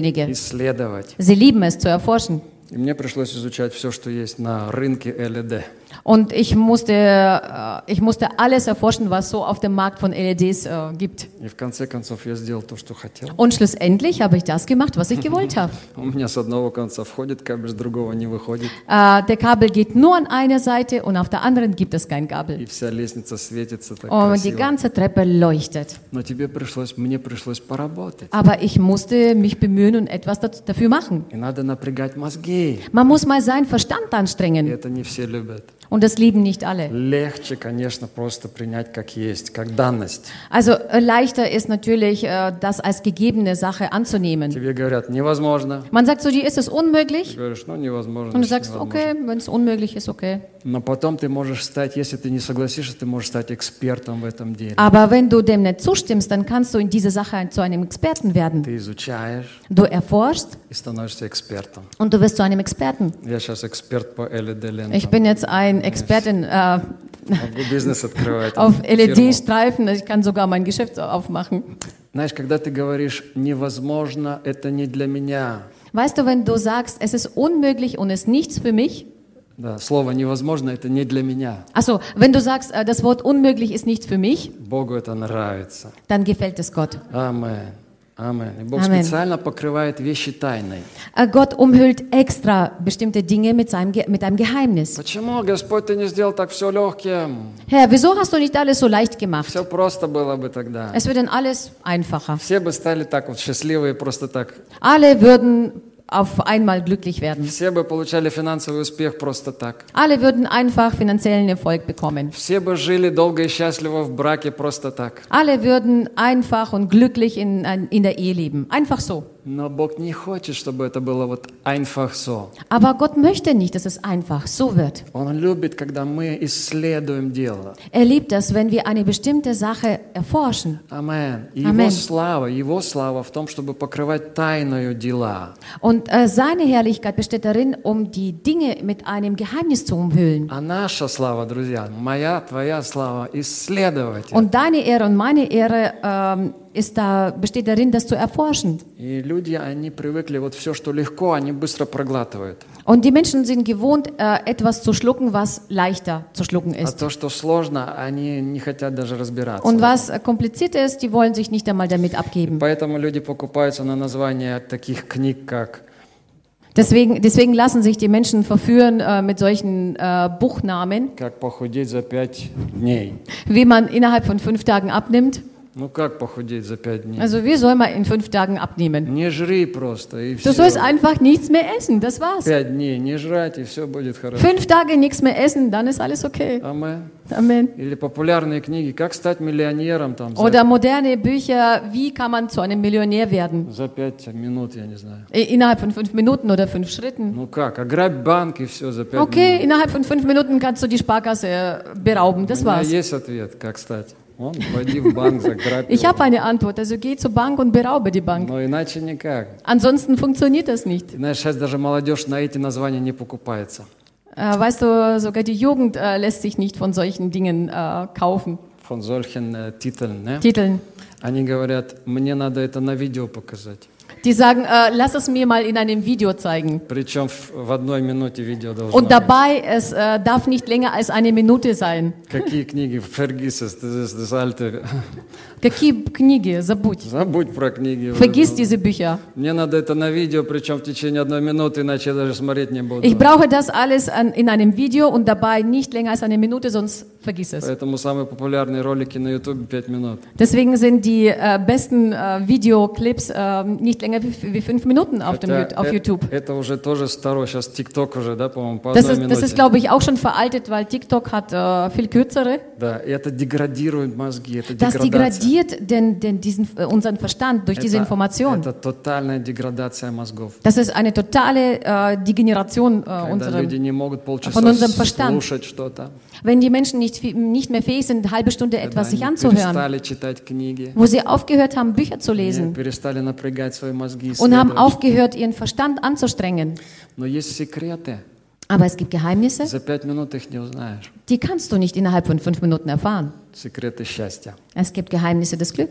[SPEAKER 1] исследовать.
[SPEAKER 2] Sie lieben es zu erforschen.
[SPEAKER 1] И мне пришлось изучать все, что есть на рынке эл и ди.
[SPEAKER 2] Und ich musste, äh, ich musste alles erforschen, was so auf dem Markt von L E Ds äh, gibt.
[SPEAKER 1] И в конце концов я сделал то, что хотел.
[SPEAKER 2] Und schlussendlich habe ich das gemacht, was ich gewollt habe.
[SPEAKER 1] У меня с одного конца входит кабель, с другого не выходит.
[SPEAKER 2] Äh, der Kabel geht nur an einer Seite und auf der anderen gibt es kein
[SPEAKER 1] И
[SPEAKER 2] Kabel.
[SPEAKER 1] вся лестница светится так
[SPEAKER 2] Und die
[SPEAKER 1] красиво.
[SPEAKER 2] ganze Treppe leuchtet.
[SPEAKER 1] Но тебе пришлось, мне пришлось поработать.
[SPEAKER 2] Aber ich musste mich bemühen und etwas dat- dafür machen.
[SPEAKER 1] И надо напрягать мозги.
[SPEAKER 2] Man muss mal seinen Verstand
[SPEAKER 1] И
[SPEAKER 2] anstrengen.
[SPEAKER 1] это не все любят.
[SPEAKER 2] Und das lieben nicht alle.
[SPEAKER 1] Легче, конечно, просто принять как есть, как данность.
[SPEAKER 2] Also äh, leichter ist natürlich, äh, das als gegebene Sache anzunehmen.
[SPEAKER 1] Тебе говорят, невозможно.
[SPEAKER 2] Man sagt so, dir ist es
[SPEAKER 1] Ты
[SPEAKER 2] unmöglich.
[SPEAKER 1] говоришь, ну невозможно.
[SPEAKER 2] Und du
[SPEAKER 1] значит,
[SPEAKER 2] sagst,
[SPEAKER 1] невозможно.
[SPEAKER 2] okay, wenn es unmöglich ist, okay.
[SPEAKER 1] Но потом ты можешь стать, если ты не согласишься, ты можешь стать экспертом в этом деле.
[SPEAKER 2] Aber wenn du dem nicht zustimmst, dann kannst du in dieser Sache zu einem Experten werden.
[SPEAKER 1] Ты изучаешь
[SPEAKER 2] Du erforschst
[SPEAKER 1] и становишься экспертом.
[SPEAKER 2] und du wirst zu einem Experten.
[SPEAKER 1] Я сейчас эксперт по эл и ди-лентам.
[SPEAKER 2] Ich bin jetzt ein Expertin äh,
[SPEAKER 1] Могу бизнес открывать.
[SPEAKER 2] auf L E
[SPEAKER 1] фирму.
[SPEAKER 2] D-Streifen. Ich kann sogar mein Geschäft aufmachen.
[SPEAKER 1] Знаешь, когда ты говоришь «невозможно, это не для меня»,
[SPEAKER 2] Weißt du, wenn du sagst, es ist unmöglich und es ist nichts für mich,
[SPEAKER 1] да, слово «невозможно» — это не для меня.
[SPEAKER 2] also wenn du sagst, äh, das Wort unmöglich ist nichts für mich,
[SPEAKER 1] Богу это нравится.
[SPEAKER 2] dann gefällt es Gott.
[SPEAKER 1] Амен. Амен. И Бог
[SPEAKER 2] Амен.
[SPEAKER 1] специально покрывает вещи тайной.
[SPEAKER 2] Äh, Gott umhüllt extra bestimmte Dinge mit, seinem, Ge- mit einem Geheimnis.
[SPEAKER 1] Почему, Господь, ты не сделал так все легким?
[SPEAKER 2] Herr, wieso hast du nicht alles so leicht gemacht?
[SPEAKER 1] Все просто было бы тогда.
[SPEAKER 2] Es wird dann alles einfacher.
[SPEAKER 1] Все бы стали так вот счастливые просто так.
[SPEAKER 2] Alle würden auf einmal glücklich werden.
[SPEAKER 1] Все бы получали финансовый успех просто так.
[SPEAKER 2] Alle würden einfach finanziellen Erfolg bekommen.
[SPEAKER 1] Все бы жили долго и счастливо в браке просто так.
[SPEAKER 2] Alle würden einfach und glücklich in, in der Ehe leben. Einfach so.
[SPEAKER 1] Но Бог не хочет, чтобы это было вот einfach so.
[SPEAKER 2] Aber Gott möchte nicht, dass es einfach so wird.
[SPEAKER 1] Он любит, когда мы исследуем дело.
[SPEAKER 2] Er liebt es, wenn wir eine bestimmte Sache erforschen.
[SPEAKER 1] Амен. И
[SPEAKER 2] Амен.
[SPEAKER 1] Его слава, Его слава в том, чтобы покрывать тайною дела.
[SPEAKER 2] Und äh, seine Herrlichkeit besteht darin, um die Dinge mit einem Geheimnis zu umhüllen.
[SPEAKER 1] А наша слава, друзья, моя, твоя слава, исследовать. это.
[SPEAKER 2] Und deine Ehre und meine Ehre ähm, ist da, besteht darin, das zu erforschen.
[SPEAKER 1] И люди, они привыкли, вот все, что легко, они быстро проглатывают.
[SPEAKER 2] Und die Menschen sind gewohnt, äh, etwas zu schlucken, was leichter zu schlucken
[SPEAKER 1] А
[SPEAKER 2] ist.
[SPEAKER 1] то, что сложно, они не хотят даже разбираться.
[SPEAKER 2] Und was äh, kompliziert ist, die wollen sich nicht einmal damit abgeben.
[SPEAKER 1] Поэтому люди покупаются на название таких книг, как
[SPEAKER 2] Deswegen, deswegen lassen sich die Menschen verführen äh, mit solchen äh, Buchnamen,
[SPEAKER 1] «Как похудеть за пять дней».
[SPEAKER 2] wie man innerhalb von fünf Tagen abnimmt.
[SPEAKER 1] Ну как похудеть за пять дней?
[SPEAKER 2] Also wie soll man in fünf Tagen abnehmen?
[SPEAKER 1] Не жри просто, и
[SPEAKER 2] Du
[SPEAKER 1] все.
[SPEAKER 2] sollst einfach nichts mehr essen, das war's.
[SPEAKER 1] Пять дней не жрать, и все будет хорошо.
[SPEAKER 2] Fünf Tage nichts mehr essen, dann ist alles okay.
[SPEAKER 1] Амен.
[SPEAKER 2] Amen.
[SPEAKER 1] Или популярные книги «Как стать миллионером» там, за,
[SPEAKER 2] Oder moderne Bücher, wie kann man zu einem Millionär werden?
[SPEAKER 1] за пять минут, я не знаю.
[SPEAKER 2] I- Innerhalb von fünf Minuten oder fünf Schritten.
[SPEAKER 1] Ну как, ограбь банк, и все за пять
[SPEAKER 2] Okay,
[SPEAKER 1] минут.
[SPEAKER 2] innerhalb von fünf Minuten kannst du die Sparkasse äh, berauben, das
[SPEAKER 1] У меня
[SPEAKER 2] war's.
[SPEAKER 1] есть ответ, как стать. Вон, пойди в банк, заграбь
[SPEAKER 2] Ich
[SPEAKER 1] его.
[SPEAKER 2] habe eine Antwort, also geh zur Bank und beraube die Bank.
[SPEAKER 1] Но иначе никак.
[SPEAKER 2] Ansonsten funktioniert das nicht.
[SPEAKER 1] И знаешь, сейчас даже молодежь на эти названия не покупается.
[SPEAKER 2] Äh, weißt du, sogar die Jugend äh, lässt sich nicht von solchen Dingen äh, kaufen.
[SPEAKER 1] Von solchen äh, Titeln. Ne?
[SPEAKER 2] Titeln.
[SPEAKER 1] Они говорят, мне надо это на видео показать.
[SPEAKER 2] Die sagen, äh, lass es mir mal in einem Video zeigen.
[SPEAKER 1] Причем в, в одной минуте видео должно
[SPEAKER 2] Und
[SPEAKER 1] быть.
[SPEAKER 2] dabei, es äh, darf nicht länger als eine Minute sein.
[SPEAKER 1] Какие книги? Vergiss es, das ist das alte.
[SPEAKER 2] Какие книги? Забудь.
[SPEAKER 1] Забудь про книги.
[SPEAKER 2] Vergiss diese Bücher.
[SPEAKER 1] Мне надо это на видео, причем в течение одной минуты, иначе я даже смотреть не буду.
[SPEAKER 2] Ich brauche das alles an, in einem Video und dabei nicht länger als eine Minute, sonst vergiss es.
[SPEAKER 1] Поэтому самые популярные ролики на YouTube пять минут.
[SPEAKER 2] Deswegen sind die äh, besten äh, Videoclips äh, nicht länger wie, wie fünf Minuten auf, dem,
[SPEAKER 1] Хотя
[SPEAKER 2] auf
[SPEAKER 1] э-
[SPEAKER 2] YouTube.
[SPEAKER 1] Это уже тоже старое, сейчас TikTok уже, да, по-моему, по
[SPEAKER 2] Das
[SPEAKER 1] одной
[SPEAKER 2] ist, das ist
[SPEAKER 1] минуте.
[SPEAKER 2] glaube ich, auch schon veraltet, weil TikTok hat äh, viel kürzere.
[SPEAKER 1] Да, и это деградирует мозги, это
[SPEAKER 2] Das
[SPEAKER 1] деградация.
[SPEAKER 2] degradiert den, den, diesen, äh, unseren Verstand durch diese
[SPEAKER 1] Это,
[SPEAKER 2] Information.
[SPEAKER 1] это тотальная деградация мозгов.
[SPEAKER 2] Das ist eine totale äh, Degeneration äh,
[SPEAKER 1] Когда
[SPEAKER 2] unserem.
[SPEAKER 1] люди не могут полчаса
[SPEAKER 2] von unserem Verstand.
[SPEAKER 1] слушать что-то,
[SPEAKER 2] Wenn die Menschen nicht, fi- nicht mehr fähig sind, eine halbe Stunde
[SPEAKER 1] когда
[SPEAKER 2] etwas sich
[SPEAKER 1] они
[SPEAKER 2] anzuhören,
[SPEAKER 1] перестали читать книги,
[SPEAKER 2] wo sie aufgehört haben, Bücher zu
[SPEAKER 1] они
[SPEAKER 2] lesen
[SPEAKER 1] перестали напрягать свои мозги,
[SPEAKER 2] und haben
[SPEAKER 1] исследовать.
[SPEAKER 2] aufgehört, ihren Verstand anzustrengen.
[SPEAKER 1] Но есть секреты,
[SPEAKER 2] Aber es gibt Geheimnisse,
[SPEAKER 1] за пять минут их не узнаешь.
[SPEAKER 2] die kannst du nicht innerhalb von fünf Minuten erfahren.
[SPEAKER 1] Секреты счастья.
[SPEAKER 2] Es gibt Geheimnisse des Glücks.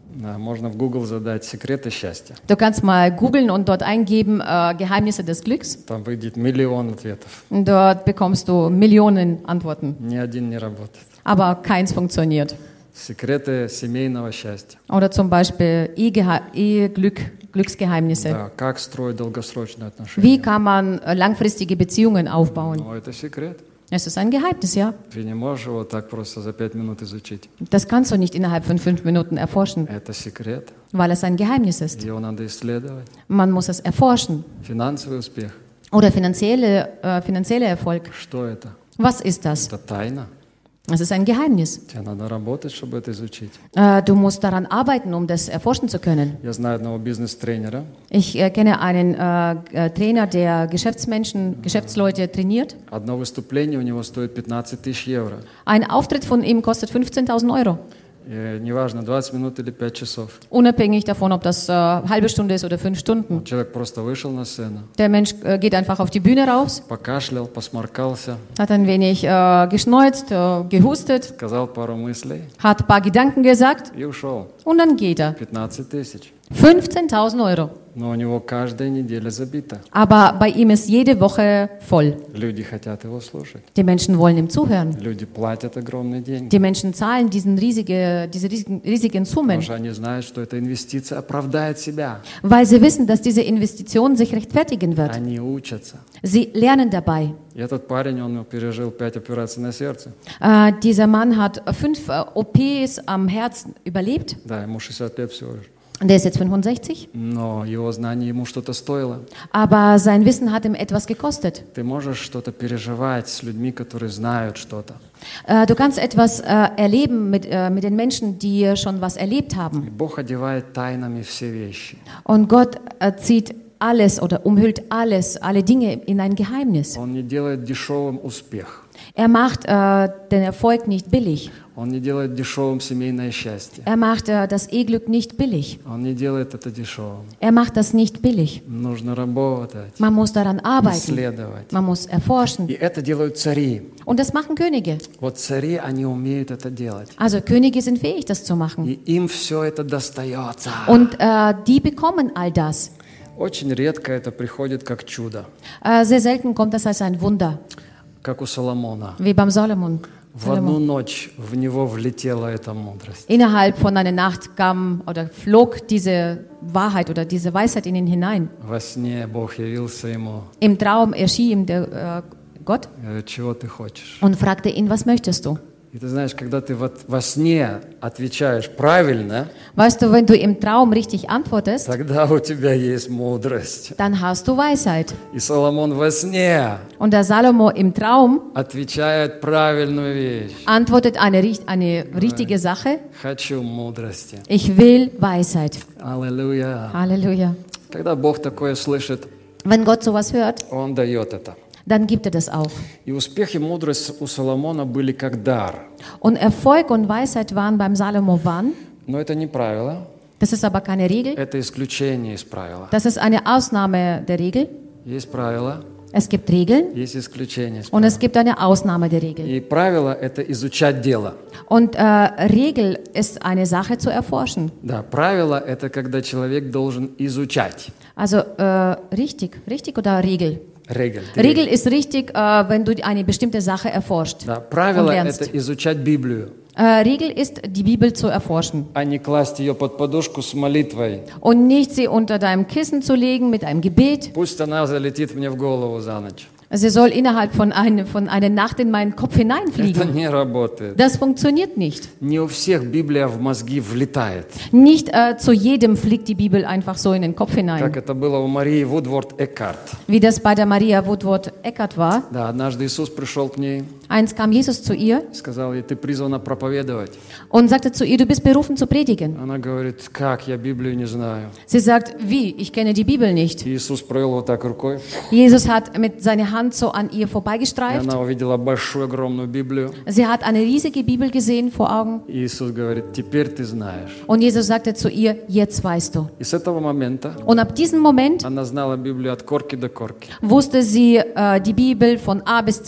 [SPEAKER 1] Да, можно в Google задать секреты счастья.
[SPEAKER 2] Du kannst mal googeln und dort eingeben äh, Geheimnisse des Glücks.
[SPEAKER 1] Там выйдет миллион ответов.
[SPEAKER 2] Und dort bekommst du Millionen Antworten.
[SPEAKER 1] Ни один не работает.
[SPEAKER 2] Aber keins funktioniert.
[SPEAKER 1] Секреты семейного счастья.
[SPEAKER 2] Oder zum Beispiel Ehegeha- Eheglück, Glücksgeheimnisse.
[SPEAKER 1] Да, как строить долгосрочные отношения.
[SPEAKER 2] Wie kann man äh, langfristige Beziehungen aufbauen?
[SPEAKER 1] Ну, это секрет.
[SPEAKER 2] Es ist ein Geheimnis, ja.
[SPEAKER 1] Ты не можешь его так просто за пять минут изучить.
[SPEAKER 2] Das kannst du nicht innerhalb von fünf Minuten erforschen,
[SPEAKER 1] Это секрет.
[SPEAKER 2] weil es ein Geheimnis ist.
[SPEAKER 1] Его надо исследовать.
[SPEAKER 2] Man muss es erforschen.
[SPEAKER 1] Финансовый успех.
[SPEAKER 2] Oder finanzielle, äh, finanzieller Erfolg.
[SPEAKER 1] Что это?
[SPEAKER 2] Was ist das?
[SPEAKER 1] Это тайна.
[SPEAKER 2] Es ist ein Geheimnis.
[SPEAKER 1] Тебе надо работать, чтобы это изучить.
[SPEAKER 2] Äh, du musst daran arbeiten, um das erforschen zu können.
[SPEAKER 1] Я знаю одного бизнес-тренера.
[SPEAKER 2] Ich äh, kenne einen äh, äh, Trainer, der Geschäftsmenschen, Geschäftsleute trainiert.
[SPEAKER 1] Одно выступление у него стоит пятнадцать тысяч евро.
[SPEAKER 2] Ein Auftritt von ihm kostet fünfzehntausend Euro.
[SPEAKER 1] И неважно, двадцать минут или пять часов.
[SPEAKER 2] Unabhängig davon, ob das äh, halbe Stunde ist oder fünf Stunden.
[SPEAKER 1] Человек просто вышел на сцену,
[SPEAKER 2] Der Mensch äh, geht einfach auf die Bühne raus,
[SPEAKER 1] покашлял, посморкался,
[SPEAKER 2] hat ein wenig äh, geschneuzt, äh, gehustet,
[SPEAKER 1] сказал пару мыслей
[SPEAKER 2] hat ein paar Gedanken gesagt
[SPEAKER 1] и ушел.
[SPEAKER 2] und dann geht er.
[SPEAKER 1] пятнадцать тысяч.
[SPEAKER 2] fünfzehntausend Euro.
[SPEAKER 1] Но у него каждая неделя забита.
[SPEAKER 2] Aber bei ihm ist jede Woche voll.
[SPEAKER 1] Люди хотят его слушать.
[SPEAKER 2] Die Menschen wollen ihm zuhören.
[SPEAKER 1] Люди платят огромные деньги.
[SPEAKER 2] Die Menschen zahlen diesen riesige, diese riesigen, riesigen Summen,
[SPEAKER 1] Потому что они знают, что эта инвестиция оправдает себя.
[SPEAKER 2] weil sie wissen, dass diese Investition sich rechtfertigen wird.
[SPEAKER 1] Они учатся.
[SPEAKER 2] Sie lernen dabei.
[SPEAKER 1] И этот парень, он пережил пять операций на сердце.
[SPEAKER 2] Äh, dieser Mann hat fünf äh, O Ps am Herzen überlebt.
[SPEAKER 1] Да, ему шестьдесят лет всего лишь.
[SPEAKER 2] Der ist jetzt fünfundsechzig.
[SPEAKER 1] Но его знание ему что-то стоило.
[SPEAKER 2] Aber sein Wissen hat ihm etwas gekostet.
[SPEAKER 1] Ты можешь что-то переживать с людьми, которые знают что-то.
[SPEAKER 2] Äh, du kannst etwas äh, erleben mit, äh, mit den Menschen, die schon was erlebt
[SPEAKER 1] И
[SPEAKER 2] haben.
[SPEAKER 1] Бог одевает тайнами все вещи.
[SPEAKER 2] Und Gott äh, zieht alles oder umhüllt alles, alle Dinge in ein Geheimnis.
[SPEAKER 1] Он не делает дешевым успех.
[SPEAKER 2] Er macht äh, den Erfolg nicht billig.
[SPEAKER 1] Он не делает дешевым семейное счастье.
[SPEAKER 2] Er macht äh, das Eheglück nicht billig.
[SPEAKER 1] Он не делает это дешевым.
[SPEAKER 2] Er macht das nicht billig.
[SPEAKER 1] Нужно работать,
[SPEAKER 2] Man muss daran arbeiten.
[SPEAKER 1] исследовать.
[SPEAKER 2] Man muss erforschen.
[SPEAKER 1] И это делают цари.
[SPEAKER 2] Und das machen Könige.
[SPEAKER 1] Вот цари, они умеют это делать.
[SPEAKER 2] Also Könige sind fähig, das zu machen.
[SPEAKER 1] И им все это достается.
[SPEAKER 2] Und äh, die bekommen all das.
[SPEAKER 1] Очень редко это приходит как чудо,
[SPEAKER 2] Äh, sehr selten kommt das als ein Wunder,
[SPEAKER 1] как у Соломона.
[SPEAKER 2] wie beim Solomon.
[SPEAKER 1] В одну ночь в него влетела эта мудрость.
[SPEAKER 2] Innerhalb von einer Nacht kam oder flog diese Wahrheit oder diese Weisheit in ihn hinein.
[SPEAKER 1] Во сне Бог явился ему.
[SPEAKER 2] Im Traum erschien ihm der äh, Gott
[SPEAKER 1] Говорит, чего ты хочешь?
[SPEAKER 2] und fragte ihn, was möchtest du?
[SPEAKER 1] И ты знаешь, когда ты вот во сне отвечаешь правильно,
[SPEAKER 2] Weißt du, wenn du im Traum richtig antwortest,
[SPEAKER 1] тогда у тебя есть мудрость.
[SPEAKER 2] dann hast du Weisheit.
[SPEAKER 1] И Соломон во сне
[SPEAKER 2] Und der Salomo im Traum
[SPEAKER 1] отвечает правильную вещь.
[SPEAKER 2] antwortet eine, richt- eine richtige Sache.
[SPEAKER 1] Хочу мудрости.
[SPEAKER 2] Ich will Weisheit.
[SPEAKER 1] Аллилуйя.
[SPEAKER 2] Halleluja.
[SPEAKER 1] Когда Бог такое слышит,
[SPEAKER 2] Wenn Gott sowas hört,
[SPEAKER 1] Он дает это.
[SPEAKER 2] dann gibt er das auch.
[SPEAKER 1] И успех и мудрость у Соломона были как дар.
[SPEAKER 2] Und Erfolg und Weisheit waren beim Salomo wann?
[SPEAKER 1] Но это не правило,
[SPEAKER 2] Das ist aber keine Regel.
[SPEAKER 1] это исключение из правила.
[SPEAKER 2] Das ist eine Ausnahme der Regel.
[SPEAKER 1] Есть правило,
[SPEAKER 2] Es gibt Regeln
[SPEAKER 1] есть исключение из
[SPEAKER 2] und
[SPEAKER 1] правила.
[SPEAKER 2] es gibt eine Ausnahme der Regel.
[SPEAKER 1] И правило – это изучать дело.
[SPEAKER 2] Und äh, Regel ist eine Sache zu erforschen.
[SPEAKER 1] Да, правило – это когда человек должен изучать.
[SPEAKER 2] Also äh, richtig, richtig oder Regel?
[SPEAKER 1] Регель.
[SPEAKER 2] Regel ist richtig, äh, wenn du eine bestimmte Sache erforscht
[SPEAKER 1] Да,
[SPEAKER 2] und
[SPEAKER 1] правило –
[SPEAKER 2] lernst.
[SPEAKER 1] это изучать Библию,
[SPEAKER 2] Äh, Regel ist, die Bibel zu erforschen
[SPEAKER 1] а не класть ее под подушку с молитвой.
[SPEAKER 2] und nicht sie unter deinem Kissen zu legen mit einem Gebet.
[SPEAKER 1] Пусть она залетит мне в голову за ночь.
[SPEAKER 2] Sie soll innerhalb von, eine, von einer Nacht in meinen Kopf
[SPEAKER 1] Это
[SPEAKER 2] hineinfliegen.
[SPEAKER 1] не работает.
[SPEAKER 2] Das funktioniert nicht.
[SPEAKER 1] Не у всех Библия в мозги влетает.
[SPEAKER 2] Nicht äh, zu jedem fliegt die Bibel einfach so in den Kopf
[SPEAKER 1] Как
[SPEAKER 2] hinein.
[SPEAKER 1] это было у Марии Вудворд Эккарт.
[SPEAKER 2] Wie das bei der Maria Woodward Eckert war.
[SPEAKER 1] Да, однажды Иисус пришел к ней
[SPEAKER 2] Eins kam Jesus zu ihr
[SPEAKER 1] и сказал ей, ты призвана проповедовать.
[SPEAKER 2] und sagte zu ihr, du bist berufen zu predigen.
[SPEAKER 1] Она говорит, как, я Библию не знаю.
[SPEAKER 2] Sie sagt, wie? Ich kenne die Bibel nicht.
[SPEAKER 1] И Иисус провел вот так рукой,
[SPEAKER 2] Jesus hat mit seiner Hand so an ihr
[SPEAKER 1] и
[SPEAKER 2] vorbeigestreift.
[SPEAKER 1] она увидела большую, огромную Библию.
[SPEAKER 2] Sie hat eine riesige Bibel gesehen vor Augen.
[SPEAKER 1] И Иисус говорит, теперь ты знаешь.
[SPEAKER 2] Und Jesus sagte zu ihr, jetzt weißt du.
[SPEAKER 1] И с этого момента
[SPEAKER 2] Und ab diesem Moment
[SPEAKER 1] она знала Библию от корки до корки.
[SPEAKER 2] wusste sie äh, die Bibel von A bis Z.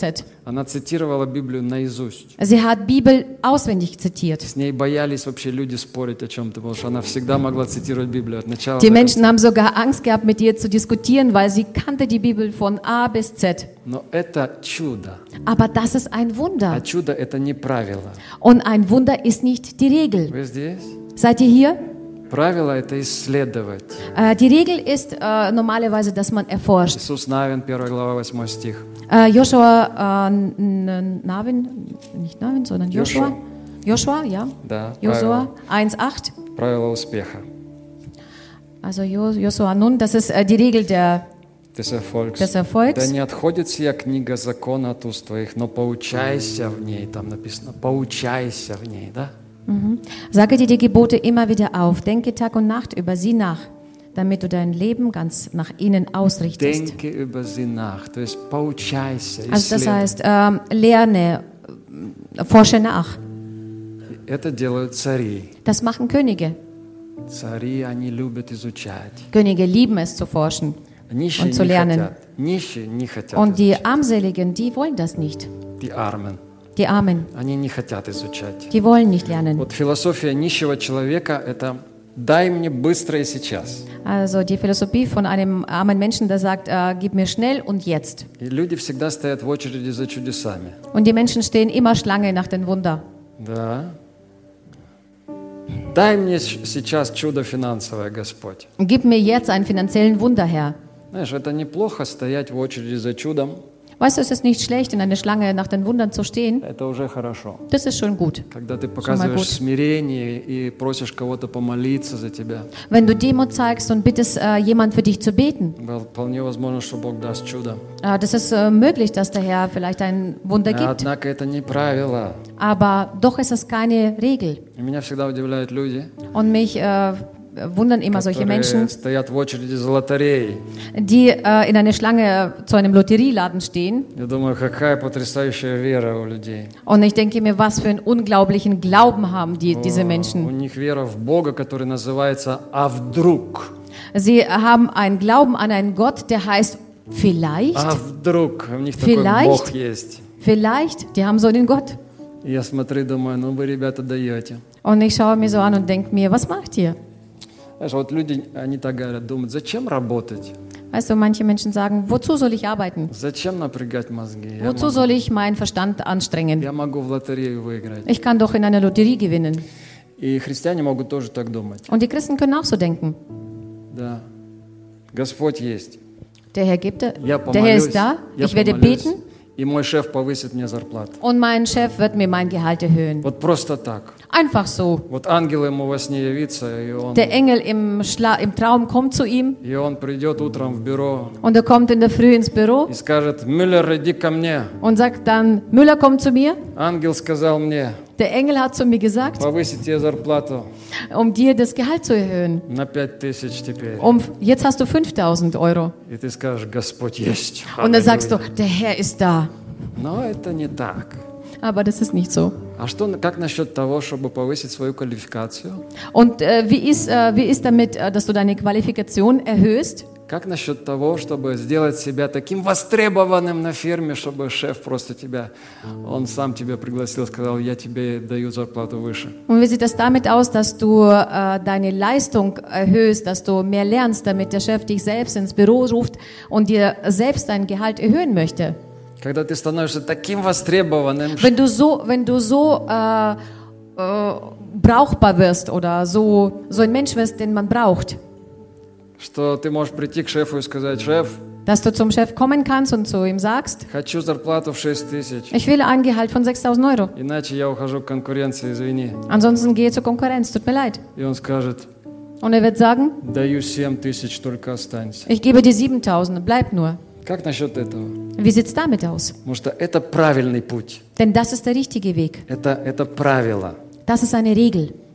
[SPEAKER 1] Она цитировала Библию наизусть.
[SPEAKER 2] Sie hat Bibel auswendig zitiert.
[SPEAKER 1] С ней боялись вообще люди спорить о чем-то, потому что она всегда могла цитировать Библию от начала
[SPEAKER 2] Die
[SPEAKER 1] до
[SPEAKER 2] Menschen
[SPEAKER 1] конца.
[SPEAKER 2] haben sogar Angst gehabt, mit ihr zu diskutieren, weil sie kannte die Bibel von A bis Z.
[SPEAKER 1] Но это чудо.
[SPEAKER 2] Aber das ist ein
[SPEAKER 1] А
[SPEAKER 2] Wunder.
[SPEAKER 1] чудо – это не правило.
[SPEAKER 2] Und ein Wunder ist nicht die Regel.
[SPEAKER 1] Вы здесь?
[SPEAKER 2] Seid ihr hier?
[SPEAKER 1] Правило – это исследовать.
[SPEAKER 2] Äh, die Regel ist äh, normalerweise, dass man erforscht.
[SPEAKER 1] Иисус Навин, первая глава, восьмой стих.
[SPEAKER 2] Äh, Joshua, äh, N- N- Navin, nicht Navin, sondern Joshua. Joshua, ja.
[SPEAKER 1] Да,
[SPEAKER 2] Joshua eins acht.
[SPEAKER 1] правило успеха.
[SPEAKER 2] Also Jo- Joshua Nun, das ist äh, die Regel der,
[SPEAKER 1] Des Erfolgs.
[SPEAKER 2] des Erfolgs.
[SPEAKER 1] Да не отходит сия книга закона от уст твоих, но поучайся в ней. Там написано, поучайся в ней, да?
[SPEAKER 2] Mhm. Sage dir die Gebote immer wieder auf, denke Tag und Nacht über sie nach, damit du dein Leben ganz nach ihnen ausrichtest.
[SPEAKER 1] Denke über sie nach, то есть поучайся,
[SPEAKER 2] Also das
[SPEAKER 1] исследуй.
[SPEAKER 2] heißt, ähm, lerne, äh, forsche nach.
[SPEAKER 1] Это делают цари.
[SPEAKER 2] Das machen Könige.
[SPEAKER 1] Цари, они любят изучать.
[SPEAKER 2] Könige lieben es zu forschen.
[SPEAKER 1] Нищие
[SPEAKER 2] Und zu
[SPEAKER 1] не
[SPEAKER 2] lernen.
[SPEAKER 1] хотят. Нищие не хотят
[SPEAKER 2] Und die
[SPEAKER 1] изучать.
[SPEAKER 2] Armseligen, die wollen das nicht.
[SPEAKER 1] Die Armen.
[SPEAKER 2] Die Armen,
[SPEAKER 1] Они не хотят изучать.
[SPEAKER 2] die wollen nicht lernen.
[SPEAKER 1] Вот философия нищего человека – это «дай мне быстро и сейчас».
[SPEAKER 2] Also die Philosophie von einem armen Menschen, der sagt, äh, gib mir schnell und jetzt.
[SPEAKER 1] И люди всегда стоят в очереди за чудесами.
[SPEAKER 2] Und die Menschen stehen immer Schlange nach den Wunder.
[SPEAKER 1] Да. Дай мне щ- сейчас чудо финансовое, Господь.
[SPEAKER 2] Gib mir jetzt einen finanziellen Wunder, Herr.
[SPEAKER 1] Знаешь, это неплохо стоять в очереди за чудом.
[SPEAKER 2] Weißt du, es ist nicht schlecht, in einer Schlange nach den Wundern zu stehen.
[SPEAKER 1] Это уже хорошо.
[SPEAKER 2] Das ist schon gut.
[SPEAKER 1] Когда ты
[SPEAKER 2] mal
[SPEAKER 1] показываешь
[SPEAKER 2] gut.
[SPEAKER 1] смирение и просишь кого-то помолиться за тебя,
[SPEAKER 2] Wenn du Demut zeigst und bittest, äh, jemand für dich zu beten,
[SPEAKER 1] вполне возможно, что Бог даст чудо.
[SPEAKER 2] äh, das ist äh, möglich, dass der Herr vielleicht ein Wunder gibt.
[SPEAKER 1] Однако это не правило.
[SPEAKER 2] Aber doch ist es keine Regel.
[SPEAKER 1] И меня всегда удивляют люди,
[SPEAKER 2] Und mich äh, wundern immer solche
[SPEAKER 1] которые
[SPEAKER 2] Menschen,
[SPEAKER 1] стоят в очереди за лотереей.
[SPEAKER 2] die äh, in einer Schlange zu einem Lotterieladen stehen.
[SPEAKER 1] Я думаю, какая потрясающая вера у людей.
[SPEAKER 2] Und ich denke mir, was für einen unglaublichen Glauben haben die, diese
[SPEAKER 1] У
[SPEAKER 2] Menschen.
[SPEAKER 1] них вера в Бога, который называется «А вдруг?».
[SPEAKER 2] Sie haben einen Glauben an einen Gott, der heißt vielleicht,
[SPEAKER 1] А вдруг? У них такой
[SPEAKER 2] Vielleicht.
[SPEAKER 1] Бог есть.
[SPEAKER 2] vielleicht, die haben so einen Gott.
[SPEAKER 1] И я смотрю и думаю, ну вы, ребята, даете.
[SPEAKER 2] Und ich schaue mir so an und denke mir, was macht ihr?
[SPEAKER 1] Знаешь, вот люди, они так говорят, думают, зачем работать?
[SPEAKER 2] Weißt du, manche Menschen sagen, wozu soll ich arbeiten?
[SPEAKER 1] Зачем напрягать мозги? Я
[SPEAKER 2] Wozu
[SPEAKER 1] могу,
[SPEAKER 2] soll ich meinen Verstand anstrengen?
[SPEAKER 1] я могу в лотерею выиграть.
[SPEAKER 2] Ich kann doch in einer Lotterie gewinnen.
[SPEAKER 1] И христиане могут тоже так думать.
[SPEAKER 2] Und die Christen können auch so denken.
[SPEAKER 1] Да. Господь есть.
[SPEAKER 2] Der Herr gibt,
[SPEAKER 1] Я
[SPEAKER 2] der Herr
[SPEAKER 1] помолюсь,
[SPEAKER 2] ist da,
[SPEAKER 1] я
[SPEAKER 2] ich werde
[SPEAKER 1] помолюсь,
[SPEAKER 2] beten
[SPEAKER 1] и мой шеф повысит мне зарплату.
[SPEAKER 2] und mein Chef wird mir mein Gehalt erhöhen.
[SPEAKER 1] Вот просто так.
[SPEAKER 2] Einfach so.
[SPEAKER 1] Вот ангел ему во сне явится, и он,
[SPEAKER 2] Der Engel im, Schla im Traum kommt zu ihm
[SPEAKER 1] и он придет утром в бюро
[SPEAKER 2] und er kommt in der Früh ins Büro
[SPEAKER 1] и скажет, Мюллер, иди ко мне.
[SPEAKER 2] und sagt dann, Müller, komm zu mir.
[SPEAKER 1] Ангел сказал мне,
[SPEAKER 2] Der Engel hat zu mir gesagt,
[SPEAKER 1] повысить тебе зарплату
[SPEAKER 2] um dir das Gehalt zu erhöhen.
[SPEAKER 1] на пять тысяч теперь.
[SPEAKER 2] Um, jetzt hast du fünftausend Euro.
[SPEAKER 1] И ты скажешь, Господь есть.
[SPEAKER 2] Und dann sagst du,
[SPEAKER 1] Аллилуйя.
[SPEAKER 2] der Herr ist da.
[SPEAKER 1] Но это не так.
[SPEAKER 2] Aber das ist nicht so.
[SPEAKER 1] А что, как насчет того, чтобы повысить свою квалификацию?
[SPEAKER 2] Und äh, wie, ist, äh, wie ist damit, äh, dass du deine Qualifikation erhöhst?
[SPEAKER 1] Как насчет того, чтобы сделать себя таким востребованным на ферме, чтобы шеф просто тебя, он сам тебя пригласил, сказал, я тебе даю зарплату выше.
[SPEAKER 2] Und wie sieht das damit aus, dass du äh, deine Leistung erhöhst, dass du mehr lernst, damit der Chef dich selbst ins Büro ruft und dir selbst dein Gehalt erhöhen möchte?
[SPEAKER 1] Когда ты становишься таким востребованным,
[SPEAKER 2] Wenn du so, wenn du so äh, äh, brauchbar wirst oder so, so ein Mensch wirst, den man braucht,
[SPEAKER 1] что ты можешь прийти к шефу и сказать, шеф,
[SPEAKER 2] dass du zum Chef kommen kannst und zu ihm sagst,
[SPEAKER 1] хочу зарплату в шесть тысяч,
[SPEAKER 2] ich will ein Gehalt von sechstausend Euro.
[SPEAKER 1] иначе я ухожу к конкуренции, извини.
[SPEAKER 2] Ansonsten gehe zur Konkurrenz, tut mir leid.
[SPEAKER 1] И он скажет,
[SPEAKER 2] Und er wird sagen,
[SPEAKER 1] даю семь тысяч, только останься.
[SPEAKER 2] ich gebe dir siebentausend, bleib nur.
[SPEAKER 1] Как насчет этого?
[SPEAKER 2] Wie sieht's damit aus?
[SPEAKER 1] Потому что это правильный путь.
[SPEAKER 2] Denn das ist der richtige Weg.
[SPEAKER 1] Это, это правило.
[SPEAKER 2] Das ist eine Regel.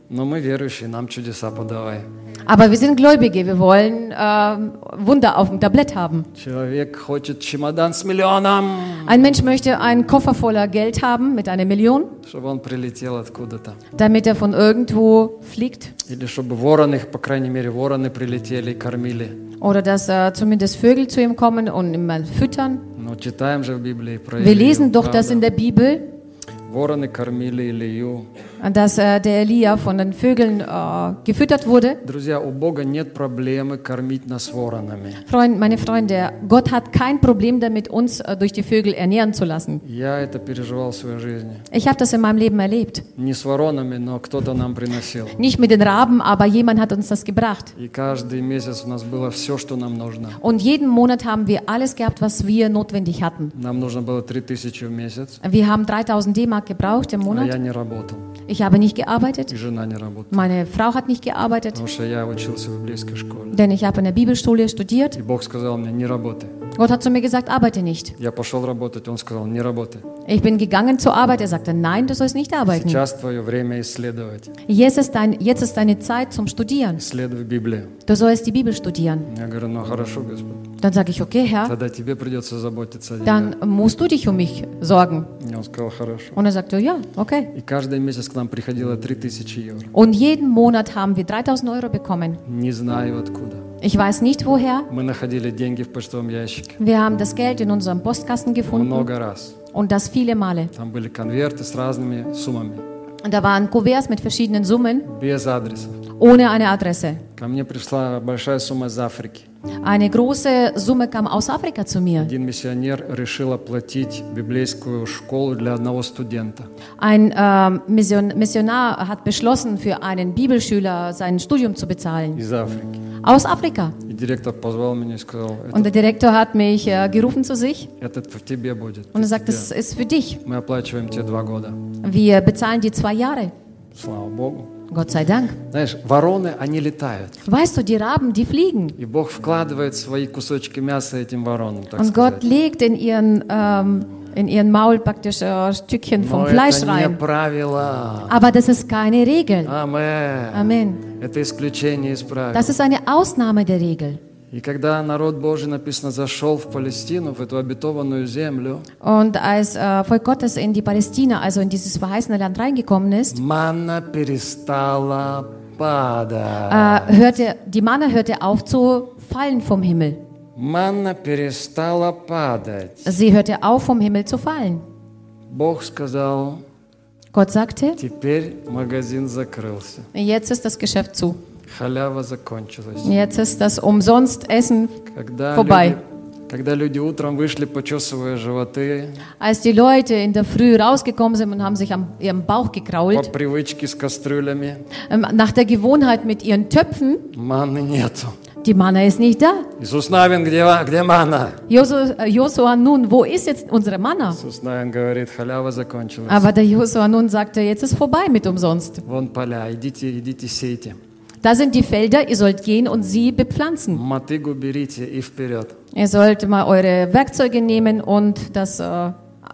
[SPEAKER 1] Но мы верующие, нам чудеса подавай.
[SPEAKER 2] Aber wir sind Gläubige, wir wollen äh, Wunder auf dem Tablett haben.
[SPEAKER 1] Человек хочет чемодан с миллионом,
[SPEAKER 2] Ein Mensch möchte einen Koffer voller Geld haben mit einer Million,
[SPEAKER 1] чтобы он прилетел откуда-то.
[SPEAKER 2] damit er von irgendwo fliegt.
[SPEAKER 1] Или чтобы вороны, по крайней мере, вороны прилетели и кормили.
[SPEAKER 2] Oder dass äh, zumindest Vögel zu ihm kommen und ihn mal füttern.
[SPEAKER 1] Но читаем же в Библии про
[SPEAKER 2] Wir
[SPEAKER 1] Илью,
[SPEAKER 2] lesen doch das
[SPEAKER 1] правда?
[SPEAKER 2] in der Bibel,
[SPEAKER 1] Вороны кормили Илью.
[SPEAKER 2] dass äh, der Elia von den Vögeln äh, gefüttert wurde.
[SPEAKER 1] Друзья, у Бога нет проблемы кормить нас воронами.
[SPEAKER 2] Freund, meine Freunde, Gott hat kein Problem damit, uns äh, durch die Vögel ernähren zu lassen.
[SPEAKER 1] Я это переживал в своей жизни.
[SPEAKER 2] Ich habe das in meinem Leben erlebt.
[SPEAKER 1] Не с воронами, но кто-то нам приносил.
[SPEAKER 2] Nicht mit den Raben, aber jemand hat uns das gebracht.
[SPEAKER 1] И каждый месяц у нас было все, что нам нужно.
[SPEAKER 2] Und jeden Monat haben wir alles gehabt, was wir notwendig hatten.
[SPEAKER 1] Нам нужно было три тысячи в месяц,
[SPEAKER 2] Wir haben dreitausend D-Mark gebraucht im
[SPEAKER 1] а я
[SPEAKER 2] Monat.
[SPEAKER 1] не работал.
[SPEAKER 2] Ich habe nicht gearbeitet.
[SPEAKER 1] И жена не работала.
[SPEAKER 2] Meine Frau hat nicht gearbeitet,
[SPEAKER 1] Потому что я учился в библейской школе.
[SPEAKER 2] denn ich habe in der Bibelschule studiert.
[SPEAKER 1] И Бог сказал мне, не работай.
[SPEAKER 2] Gott hat zu mir gesagt, arbeite nicht.
[SPEAKER 1] Я пошел работать, Он сказал, не работай.
[SPEAKER 2] Ich bin gegangen zur Arbeit. Er sagte, nein, du sollst nicht arbeiten.
[SPEAKER 1] Сейчас твое время исследовать.
[SPEAKER 2] Jetzt ist, dein, jetzt ist deine Zeit zum Studieren.
[SPEAKER 1] Исследуй Библию.
[SPEAKER 2] Du sollst die Bibel studieren.
[SPEAKER 1] Я говорю, ну хорошо, Господь.
[SPEAKER 2] Dann sage ich, okay, Herr,
[SPEAKER 1] Тогда тебе придется заботиться о
[SPEAKER 2] dann
[SPEAKER 1] деньгах.
[SPEAKER 2] musst du dich um mich sorgen.
[SPEAKER 1] И Он сказал, хорошо.
[SPEAKER 2] Und er sagte, ja, okay.
[SPEAKER 1] И каждый месяц к нам приходило три тысячи евро.
[SPEAKER 2] Und jeden Monat haben wir dreitausend Euro bekommen.
[SPEAKER 1] Не знаю откуда.
[SPEAKER 2] Ich weiß nicht woher.
[SPEAKER 1] Мы находили деньги в почтовом ящике.
[SPEAKER 2] Wir haben das Geld in unserem Postkasten gefunden
[SPEAKER 1] Много раз.
[SPEAKER 2] und das viele Male.
[SPEAKER 1] Там были конверты с разными суммами.
[SPEAKER 2] Und da waren Kuverts mit verschiedenen Summen,
[SPEAKER 1] Без адреса.
[SPEAKER 2] ohne eine Adresse.
[SPEAKER 1] Ко мне пришла большая сумма из Африки.
[SPEAKER 2] Eine große Summe kam aus Afrika zu mir.
[SPEAKER 1] Один миссионер решил оплатить библейскую школу для одного студента.
[SPEAKER 2] Ein ähm, Mission, Missionar hat beschlossen, für einen Bibelschüler sein Studium zu bezahlen.
[SPEAKER 1] Из Африки.
[SPEAKER 2] Aus Afrika.
[SPEAKER 1] И директор позвал меня и сказал,
[SPEAKER 2] Und der
[SPEAKER 1] этот,
[SPEAKER 2] Direktor hat mich äh, gerufen zu sich
[SPEAKER 1] этот в тебе будет.
[SPEAKER 2] und er
[SPEAKER 1] это
[SPEAKER 2] sagt,
[SPEAKER 1] тебе.
[SPEAKER 2] das ist für dich.
[SPEAKER 1] Мы оплачиваем тебе два года.
[SPEAKER 2] Wir bezahlen dir zwei Jahre.
[SPEAKER 1] Слава Богу.
[SPEAKER 2] Gott sei Dank.
[SPEAKER 1] Знаешь, вороны, они летают.
[SPEAKER 2] Weißt du, die Raben, die fliegen.
[SPEAKER 1] И Бог вкладывает свои кусочки мяса этим воронам, так
[SPEAKER 2] Und Gott
[SPEAKER 1] сказать.
[SPEAKER 2] legt in ihren, ähm, in ihren Maul praktisch äh, Stückchen vom
[SPEAKER 1] Но
[SPEAKER 2] Fleisch
[SPEAKER 1] это не
[SPEAKER 2] rein.
[SPEAKER 1] правило.
[SPEAKER 2] Aber das ist keine Regel.
[SPEAKER 1] Амен.
[SPEAKER 2] Amen.
[SPEAKER 1] Это исключение из правил.
[SPEAKER 2] Das ist eine Ausnahme der Regel.
[SPEAKER 1] И когда народ Божий, написано, зашел в Палестину, в эту обетованную землю,
[SPEAKER 2] Und als äh, Volk Gottes in die Palästina, also in dieses verheißene Land reingekommen ist,
[SPEAKER 1] манна перестала падать.
[SPEAKER 2] äh, hörte, die Manna hörte auf zu fallen vom Himmel.
[SPEAKER 1] Манна перестала падать.
[SPEAKER 2] Sie hörte auf, vom Himmel zu fallen.
[SPEAKER 1] Бог сказал,
[SPEAKER 2] Gott sagte,
[SPEAKER 1] теперь магазин закрылся.
[SPEAKER 2] jetzt ist das Geschäft zu.
[SPEAKER 1] Халява закончилась.
[SPEAKER 2] Jetzt ist das Umsonst-Essen
[SPEAKER 1] Когда
[SPEAKER 2] vorbei.
[SPEAKER 1] люди, когда люди утром вышли, почесывая животы,
[SPEAKER 2] Als die Leute in der Früh rausgekommen sind und haben sich am ihrem Bauch
[SPEAKER 1] по
[SPEAKER 2] gekrault,
[SPEAKER 1] привычке с кастрюлями,
[SPEAKER 2] ähm, nach der Gewohnheit mit ihren Töpfen,
[SPEAKER 1] манны нету.
[SPEAKER 2] die Manna ist nicht da.
[SPEAKER 1] Иисус Навин, где, ва- где манна?
[SPEAKER 2] Josu- äh, Josua nun, wo ist jetzt unsere Manna?
[SPEAKER 1] Иисус Навин говорит, халява закончилась.
[SPEAKER 2] Aber der Josua nun sagte, jetzt ist vorbei mit umsonst.
[SPEAKER 1] Вон поля, идите, идите, сейте.
[SPEAKER 2] Da sind die Felder, ihr sollt gehen und sie bepflanzen.
[SPEAKER 1] Мотыгу берите и вперед.
[SPEAKER 2] Ihr sollt mal eure Werkzeuge nehmen und das äh,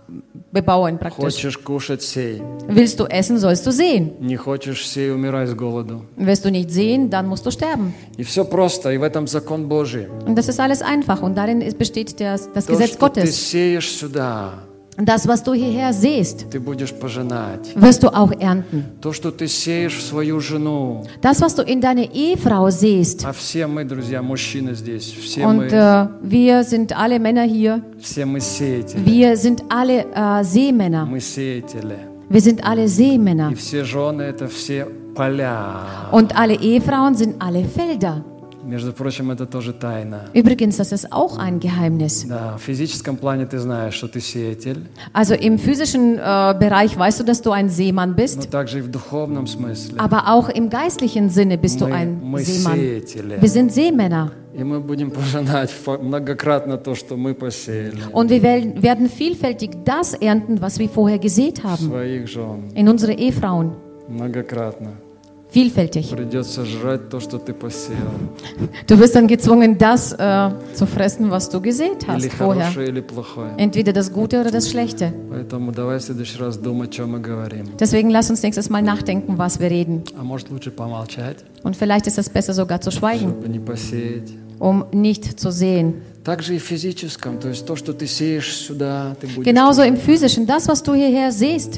[SPEAKER 2] bebauen praktisch.
[SPEAKER 1] Хочешь кушать, сей.
[SPEAKER 2] Willst du essen, sollst du sehen.
[SPEAKER 1] Не хочешь, сей, умирай с голоду.
[SPEAKER 2] Willst du nicht sehen, dann musst du sterben.
[SPEAKER 1] И все просто, и в этом закон Божий.
[SPEAKER 2] Und das ist alles einfach und darin ist- besteht der, das
[SPEAKER 1] То,
[SPEAKER 2] Gesetz
[SPEAKER 1] что ты
[SPEAKER 2] Gottes.
[SPEAKER 1] сеешь сюда,
[SPEAKER 2] Und das, was du hierher siehst,
[SPEAKER 1] ты будешь пожинать.
[SPEAKER 2] wirst du auch ernten.
[SPEAKER 1] То, что ты сеешь в свою жену,
[SPEAKER 2] Das, was du in deine Ehefrau siehst,
[SPEAKER 1] а все мы, друзья, мужчины здесь, все
[SPEAKER 2] und
[SPEAKER 1] мы,
[SPEAKER 2] äh, wir sind alle Männer hier,
[SPEAKER 1] все мы сеятели,
[SPEAKER 2] wir sind alle äh, Seemänner.
[SPEAKER 1] мы сеятели.
[SPEAKER 2] Wir sind alle Seemänner.
[SPEAKER 1] И все жены – это все поля.
[SPEAKER 2] Und alle Ehefrauen sind alle Felder.
[SPEAKER 1] Между прочим, это тоже тайна.
[SPEAKER 2] Übrigens, das ist auch ein Geheimnis.
[SPEAKER 1] Да, в физическом плане ты знаешь, что ты сеятель,
[SPEAKER 2] Also im physischen äh, Bereich weißt du, dass du ein Seemann
[SPEAKER 1] но
[SPEAKER 2] bist,
[SPEAKER 1] также и в духовном смысле.
[SPEAKER 2] aber auch im geistlichen Sinne bist du
[SPEAKER 1] Мы,
[SPEAKER 2] ein
[SPEAKER 1] мы
[SPEAKER 2] Seemann.
[SPEAKER 1] сеятели.
[SPEAKER 2] Wir sind Seemänner
[SPEAKER 1] И мы будем пожинать фа- многократно то, что мы посеяли.
[SPEAKER 2] und wir wel- werden vielfältig das ernten, was wir vorher gesät haben
[SPEAKER 1] Своих жен.
[SPEAKER 2] in unsere Ehefrauen.
[SPEAKER 1] Многократно.
[SPEAKER 2] vielfältig.
[SPEAKER 1] Придется жрать то, что ты посеял.
[SPEAKER 2] Du wirst dann gezwungen, das äh, zu fressen, was du gesät
[SPEAKER 1] Или
[SPEAKER 2] hast vorher.
[SPEAKER 1] хорошее, или плохое.
[SPEAKER 2] Entweder das Gute oder das Schlechte.
[SPEAKER 1] Поэтому давай в следующий раз думать, о чем мы говорим.
[SPEAKER 2] Deswegen lass uns nächstes Mal nachdenken, was wir reden.
[SPEAKER 1] А может лучше помолчать,
[SPEAKER 2] Und vielleicht ist es besser sogar zu schweigen,
[SPEAKER 1] чтобы не посеять.
[SPEAKER 2] um nicht zu sehen.
[SPEAKER 1] Также и в физическом, то есть то, что ты сеешь сюда, ты будешь...
[SPEAKER 2] Genauso im Physischen, das, was du hierher siehst,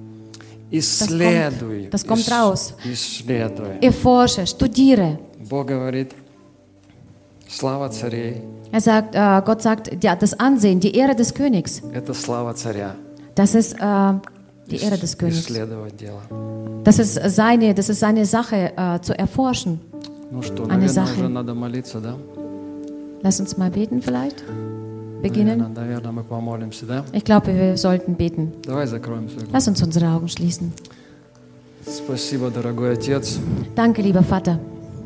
[SPEAKER 1] Исследуй.
[SPEAKER 2] das kommt
[SPEAKER 1] ис-
[SPEAKER 2] raus.
[SPEAKER 1] Исследуй.
[SPEAKER 2] erforsche, studiere.
[SPEAKER 1] Bог говорит, слава царей
[SPEAKER 2] Er sagt, äh, Gott sagt, ja, das Ansehen, die Ehre des Königs,
[SPEAKER 1] – это слава царя.
[SPEAKER 2] das ist äh, die Ehre des Königs.
[SPEAKER 1] Исследовать дело.
[SPEAKER 2] Das ist seine, das ist seine Sache, äh, zu erforschen.
[SPEAKER 1] Ну что,
[SPEAKER 2] Eine
[SPEAKER 1] наверное,
[SPEAKER 2] Sache.
[SPEAKER 1] уже надо молиться, да?
[SPEAKER 2] Lass uns mal beten vielleicht. Beginnen.
[SPEAKER 1] Наверное, наверное, мы помолимся, да?
[SPEAKER 2] Ich glaube, wir sollten beten.
[SPEAKER 1] Давай закроем свои глаза.
[SPEAKER 2] Lass uns unsere Augen schließen.
[SPEAKER 1] Спасибо, дорогой Отец,
[SPEAKER 2] Danke, lieber Vater,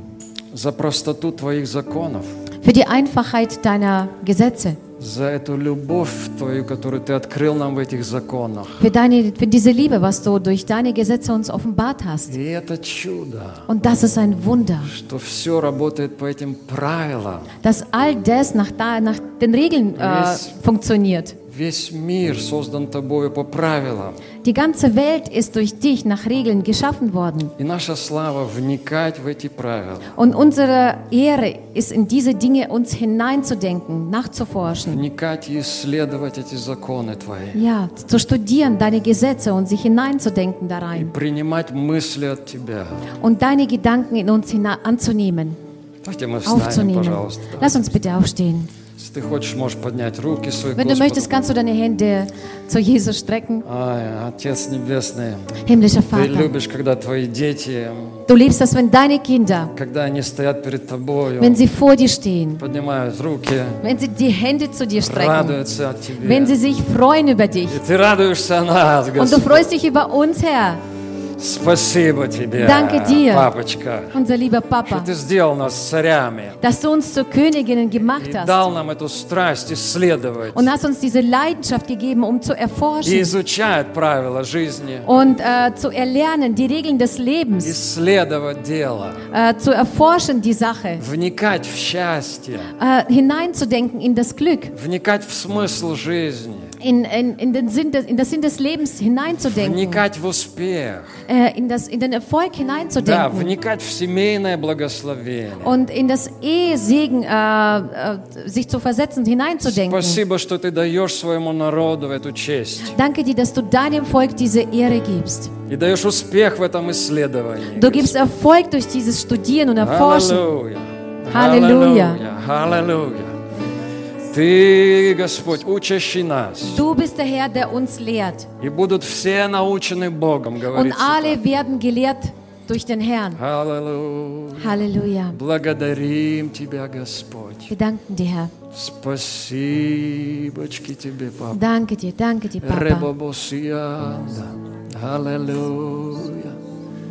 [SPEAKER 1] за простоту Твоих законов,
[SPEAKER 2] für die Einfachheit deiner Gesetze,
[SPEAKER 1] за эту любовь Твою, которую Ты открыл нам в этих законах.
[SPEAKER 2] für, deine, für diese Liebe, was du durch deine Gesetze uns offenbart hast.
[SPEAKER 1] И это чудо,
[SPEAKER 2] Und das ist ein Wunder,
[SPEAKER 1] что все работает по этим правилам.
[SPEAKER 2] dass all das nach, da, nach den Regeln äh,
[SPEAKER 1] Yes.
[SPEAKER 2] funktioniert.
[SPEAKER 1] Весь мир создан Тобою по правилам.
[SPEAKER 2] Die ganze Welt ist durch dich nach Regeln geschaffen worden.
[SPEAKER 1] И наша слава вникать в эти правила,
[SPEAKER 2] Und unsere Ehre ist in diese Dinge uns hineinzudenken, nachzuforschen.
[SPEAKER 1] вникать и исследовать эти законы Твои.
[SPEAKER 2] Ja, zu studieren deine Gesetze und sich hineinzudenken da
[SPEAKER 1] И
[SPEAKER 2] rein.
[SPEAKER 1] принимать мысли от Тебя.
[SPEAKER 2] Und deine Gedanken in uns hina- anzunehmen,
[SPEAKER 1] Давайте мы встанем,
[SPEAKER 2] aufzunehmen.
[SPEAKER 1] пожалуйста.
[SPEAKER 2] Lass uns bitte aufstehen.
[SPEAKER 1] Если ты хочешь, можешь поднять руки свои к
[SPEAKER 2] Wenn du möchtest,
[SPEAKER 1] Господу.
[SPEAKER 2] kannst du deine Hände zu Jesus strecken.
[SPEAKER 1] Ай, Отец Небесный,
[SPEAKER 2] Himmlischer
[SPEAKER 1] Ты
[SPEAKER 2] Vater,
[SPEAKER 1] любишь, когда Твои дети,
[SPEAKER 2] du liebst es, wenn deine Kinder,
[SPEAKER 1] когда они стоят перед Тобою,
[SPEAKER 2] wenn sie vor dir stehen,
[SPEAKER 1] поднимают руки,
[SPEAKER 2] wenn sie die Hände zu dir strecken,
[SPEAKER 1] радуются от Тебя.
[SPEAKER 2] wenn sie sich freuen über dich.
[SPEAKER 1] И Ты радуешься о нас,
[SPEAKER 2] Und du
[SPEAKER 1] Господь.
[SPEAKER 2] freust dich über uns, Herr,
[SPEAKER 1] Спасибо Тебе,
[SPEAKER 2] Danke dir.
[SPEAKER 1] папочка,
[SPEAKER 2] unser lieber
[SPEAKER 1] что
[SPEAKER 2] Papa,
[SPEAKER 1] Ты сделал нас царями
[SPEAKER 2] dass du uns zu Königinnen gemacht
[SPEAKER 1] и
[SPEAKER 2] hast
[SPEAKER 1] дал нам эту страсть исследовать
[SPEAKER 2] und hast uns diese Leidenschaft gegeben, um zu
[SPEAKER 1] и
[SPEAKER 2] erforschen
[SPEAKER 1] изучать правила жизни,
[SPEAKER 2] und äh, zu erlernen, die Regeln des Lebens,
[SPEAKER 1] исследовать дело,
[SPEAKER 2] äh, zu erforschen, die Sache,
[SPEAKER 1] вникать в счастье,
[SPEAKER 2] äh, hineinzudenken in das Glück,
[SPEAKER 1] вникать в смысл жизни,
[SPEAKER 2] in, in, in, den Sinn des, in das Sinn des Lebens hineinzudenken,
[SPEAKER 1] вникать в успех,
[SPEAKER 2] äh, in, das, in den Erfolg
[SPEAKER 1] да,
[SPEAKER 2] hineinzudenken
[SPEAKER 1] вникать в семейное благословение.
[SPEAKER 2] und in das Ehesegen äh, äh, sich zu versetzen, hineinzudenken.
[SPEAKER 1] Спасибо, что Ты даешь своему народу эту честь
[SPEAKER 2] Danke dir, dass du deinem Volk diese Ehre gibst.
[SPEAKER 1] и даешь успех в этом исследовании.
[SPEAKER 2] Du gibst Erfolg durch dieses Studieren und Erforschen.
[SPEAKER 1] Аллилуйя.
[SPEAKER 2] Halleluja.
[SPEAKER 1] Аллилуйя. Ты, Господь, учащий нас.
[SPEAKER 2] Du bist der Herr, der uns lehrt.
[SPEAKER 1] И будут все научены Богом,
[SPEAKER 2] Und
[SPEAKER 1] говорится.
[SPEAKER 2] alle werden gelehrt durch den Herrn.
[SPEAKER 1] Аллилуйя.
[SPEAKER 2] Halleluja.
[SPEAKER 1] Благодарим Тебя, Господь.
[SPEAKER 2] Wir danken dir, Herr.
[SPEAKER 1] Спасибочки Тебе, Папа.
[SPEAKER 2] Danke dir, danke dir, Papa.
[SPEAKER 1] Ребобосианда. Аллилуйя.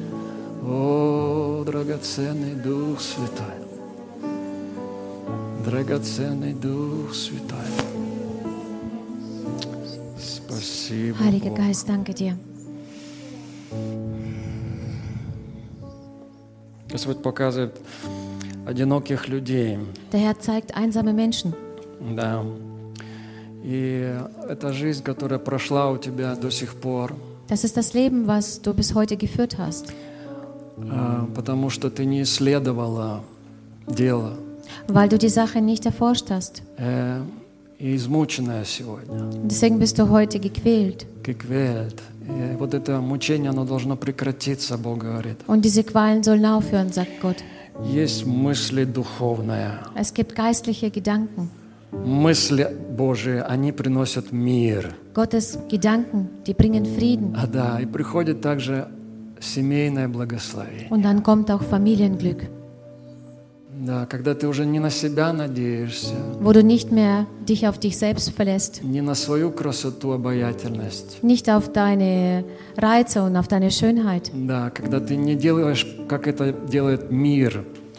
[SPEAKER 1] О, драгоценный Дух Святой. Драгоценный Дух Святой. Спасибо,
[SPEAKER 2] Heiliger
[SPEAKER 1] Бог.
[SPEAKER 2] Geist, danke dir.
[SPEAKER 1] Господь показывает одиноких людей.
[SPEAKER 2] Der Herr zeigt einsame Menschen.
[SPEAKER 1] Да. И это жизнь, которая прошла у тебя до сих пор,
[SPEAKER 2] Das ist das Leben, was du bis heute geführt hast,
[SPEAKER 1] а, потому что ты не исследовала дело.
[SPEAKER 2] weil du die Sache nicht erforscht hast.
[SPEAKER 1] Э, И измученная сегодня.
[SPEAKER 2] Und deswegen bist du heute gequält.
[SPEAKER 1] Gekвält. И вот это мучение, оно должно прекратиться, Бог говорит.
[SPEAKER 2] Und diese Qualen sollen aufhören, sagt Gott.
[SPEAKER 1] Есть мысли духовные.
[SPEAKER 2] Es gibt geistliche Gedanken.
[SPEAKER 1] Мысли Божии, они приносят мир.
[SPEAKER 2] Gottes Gedanken, die bringen Frieden.
[SPEAKER 1] А да, и приходит также семейное благословение.
[SPEAKER 2] Und dann kommt auch Familienglück,
[SPEAKER 1] Да, когда ты уже не на себя надеешься,
[SPEAKER 2] wo du nicht mehr dich auf dich selbst verlässt,
[SPEAKER 1] не на свою красоту, обаятельность.
[SPEAKER 2] nicht auf deine Reize und auf deine Schönheit.
[SPEAKER 1] Да, когда ты не делаешь, как это делает мир,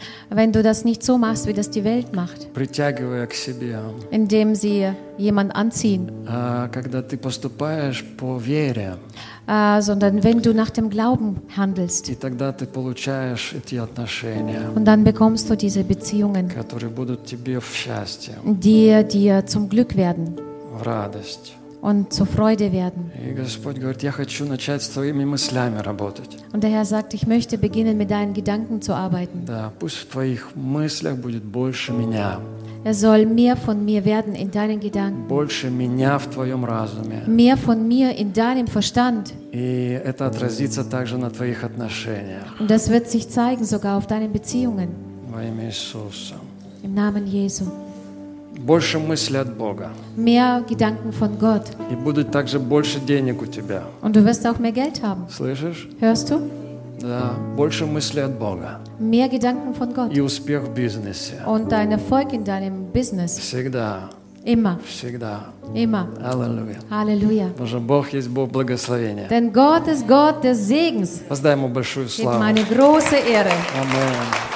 [SPEAKER 2] Wenn du das nicht so machst, wie das die Welt macht,
[SPEAKER 1] притягивая к себе.
[SPEAKER 2] indem sie jemand anziehen,
[SPEAKER 1] А когда ты поступаешь по вере,
[SPEAKER 2] äh, sondern wenn du nach dem Glauben handelst.
[SPEAKER 1] и тогда ты получаешь эти отношения,
[SPEAKER 2] Und dann bekommst du diese Beziehungen,
[SPEAKER 1] которые будут тебе в счастье,
[SPEAKER 2] die dir zum Glück werden
[SPEAKER 1] в радость.
[SPEAKER 2] und zur Freude werden.
[SPEAKER 1] И Господь говорит, я хочу начать с твоими мыслями работать.
[SPEAKER 2] Und der Herr sagt, ich möchte beginnen, mit deinen Gedanken zu arbeiten.
[SPEAKER 1] Да, пусть в твоих мыслях будет больше меня,
[SPEAKER 2] Er soll mehr von mir werden in deinen Gedanken,
[SPEAKER 1] больше меня в твоем разуме.
[SPEAKER 2] mehr von mir in deinem Verstand.
[SPEAKER 1] И это отразится также на твоих отношениях.
[SPEAKER 2] Und das wird sich zeigen sogar auf deinen Beziehungen.
[SPEAKER 1] Во имя Иисуса.
[SPEAKER 2] Im Namen Jesu.
[SPEAKER 1] Больше мысли от Бога.
[SPEAKER 2] Mehr Gedanken von Gott.
[SPEAKER 1] И будет также больше денег у тебя.
[SPEAKER 2] Und du wirst auch mehr Geld haben.
[SPEAKER 1] Слышишь?
[SPEAKER 2] Hörst du?
[SPEAKER 1] Да, больше мысли от Бога.
[SPEAKER 2] Mehr Gedanken von Gott.
[SPEAKER 1] И успех в бизнесе.
[SPEAKER 2] Und dein Erfolg in deinem Business.
[SPEAKER 1] Всегда.
[SPEAKER 2] Immer.
[SPEAKER 1] Всегда.
[SPEAKER 2] Immer.
[SPEAKER 1] Аллилуйя.
[SPEAKER 2] Halleluja.
[SPEAKER 1] Потому что Бог есть Бог благословения.
[SPEAKER 2] Denn Gott ist Gott des Segens.
[SPEAKER 1] Воздай Ему большую
[SPEAKER 2] Gib
[SPEAKER 1] славу.
[SPEAKER 2] meine große Ehre.
[SPEAKER 1] Аминь.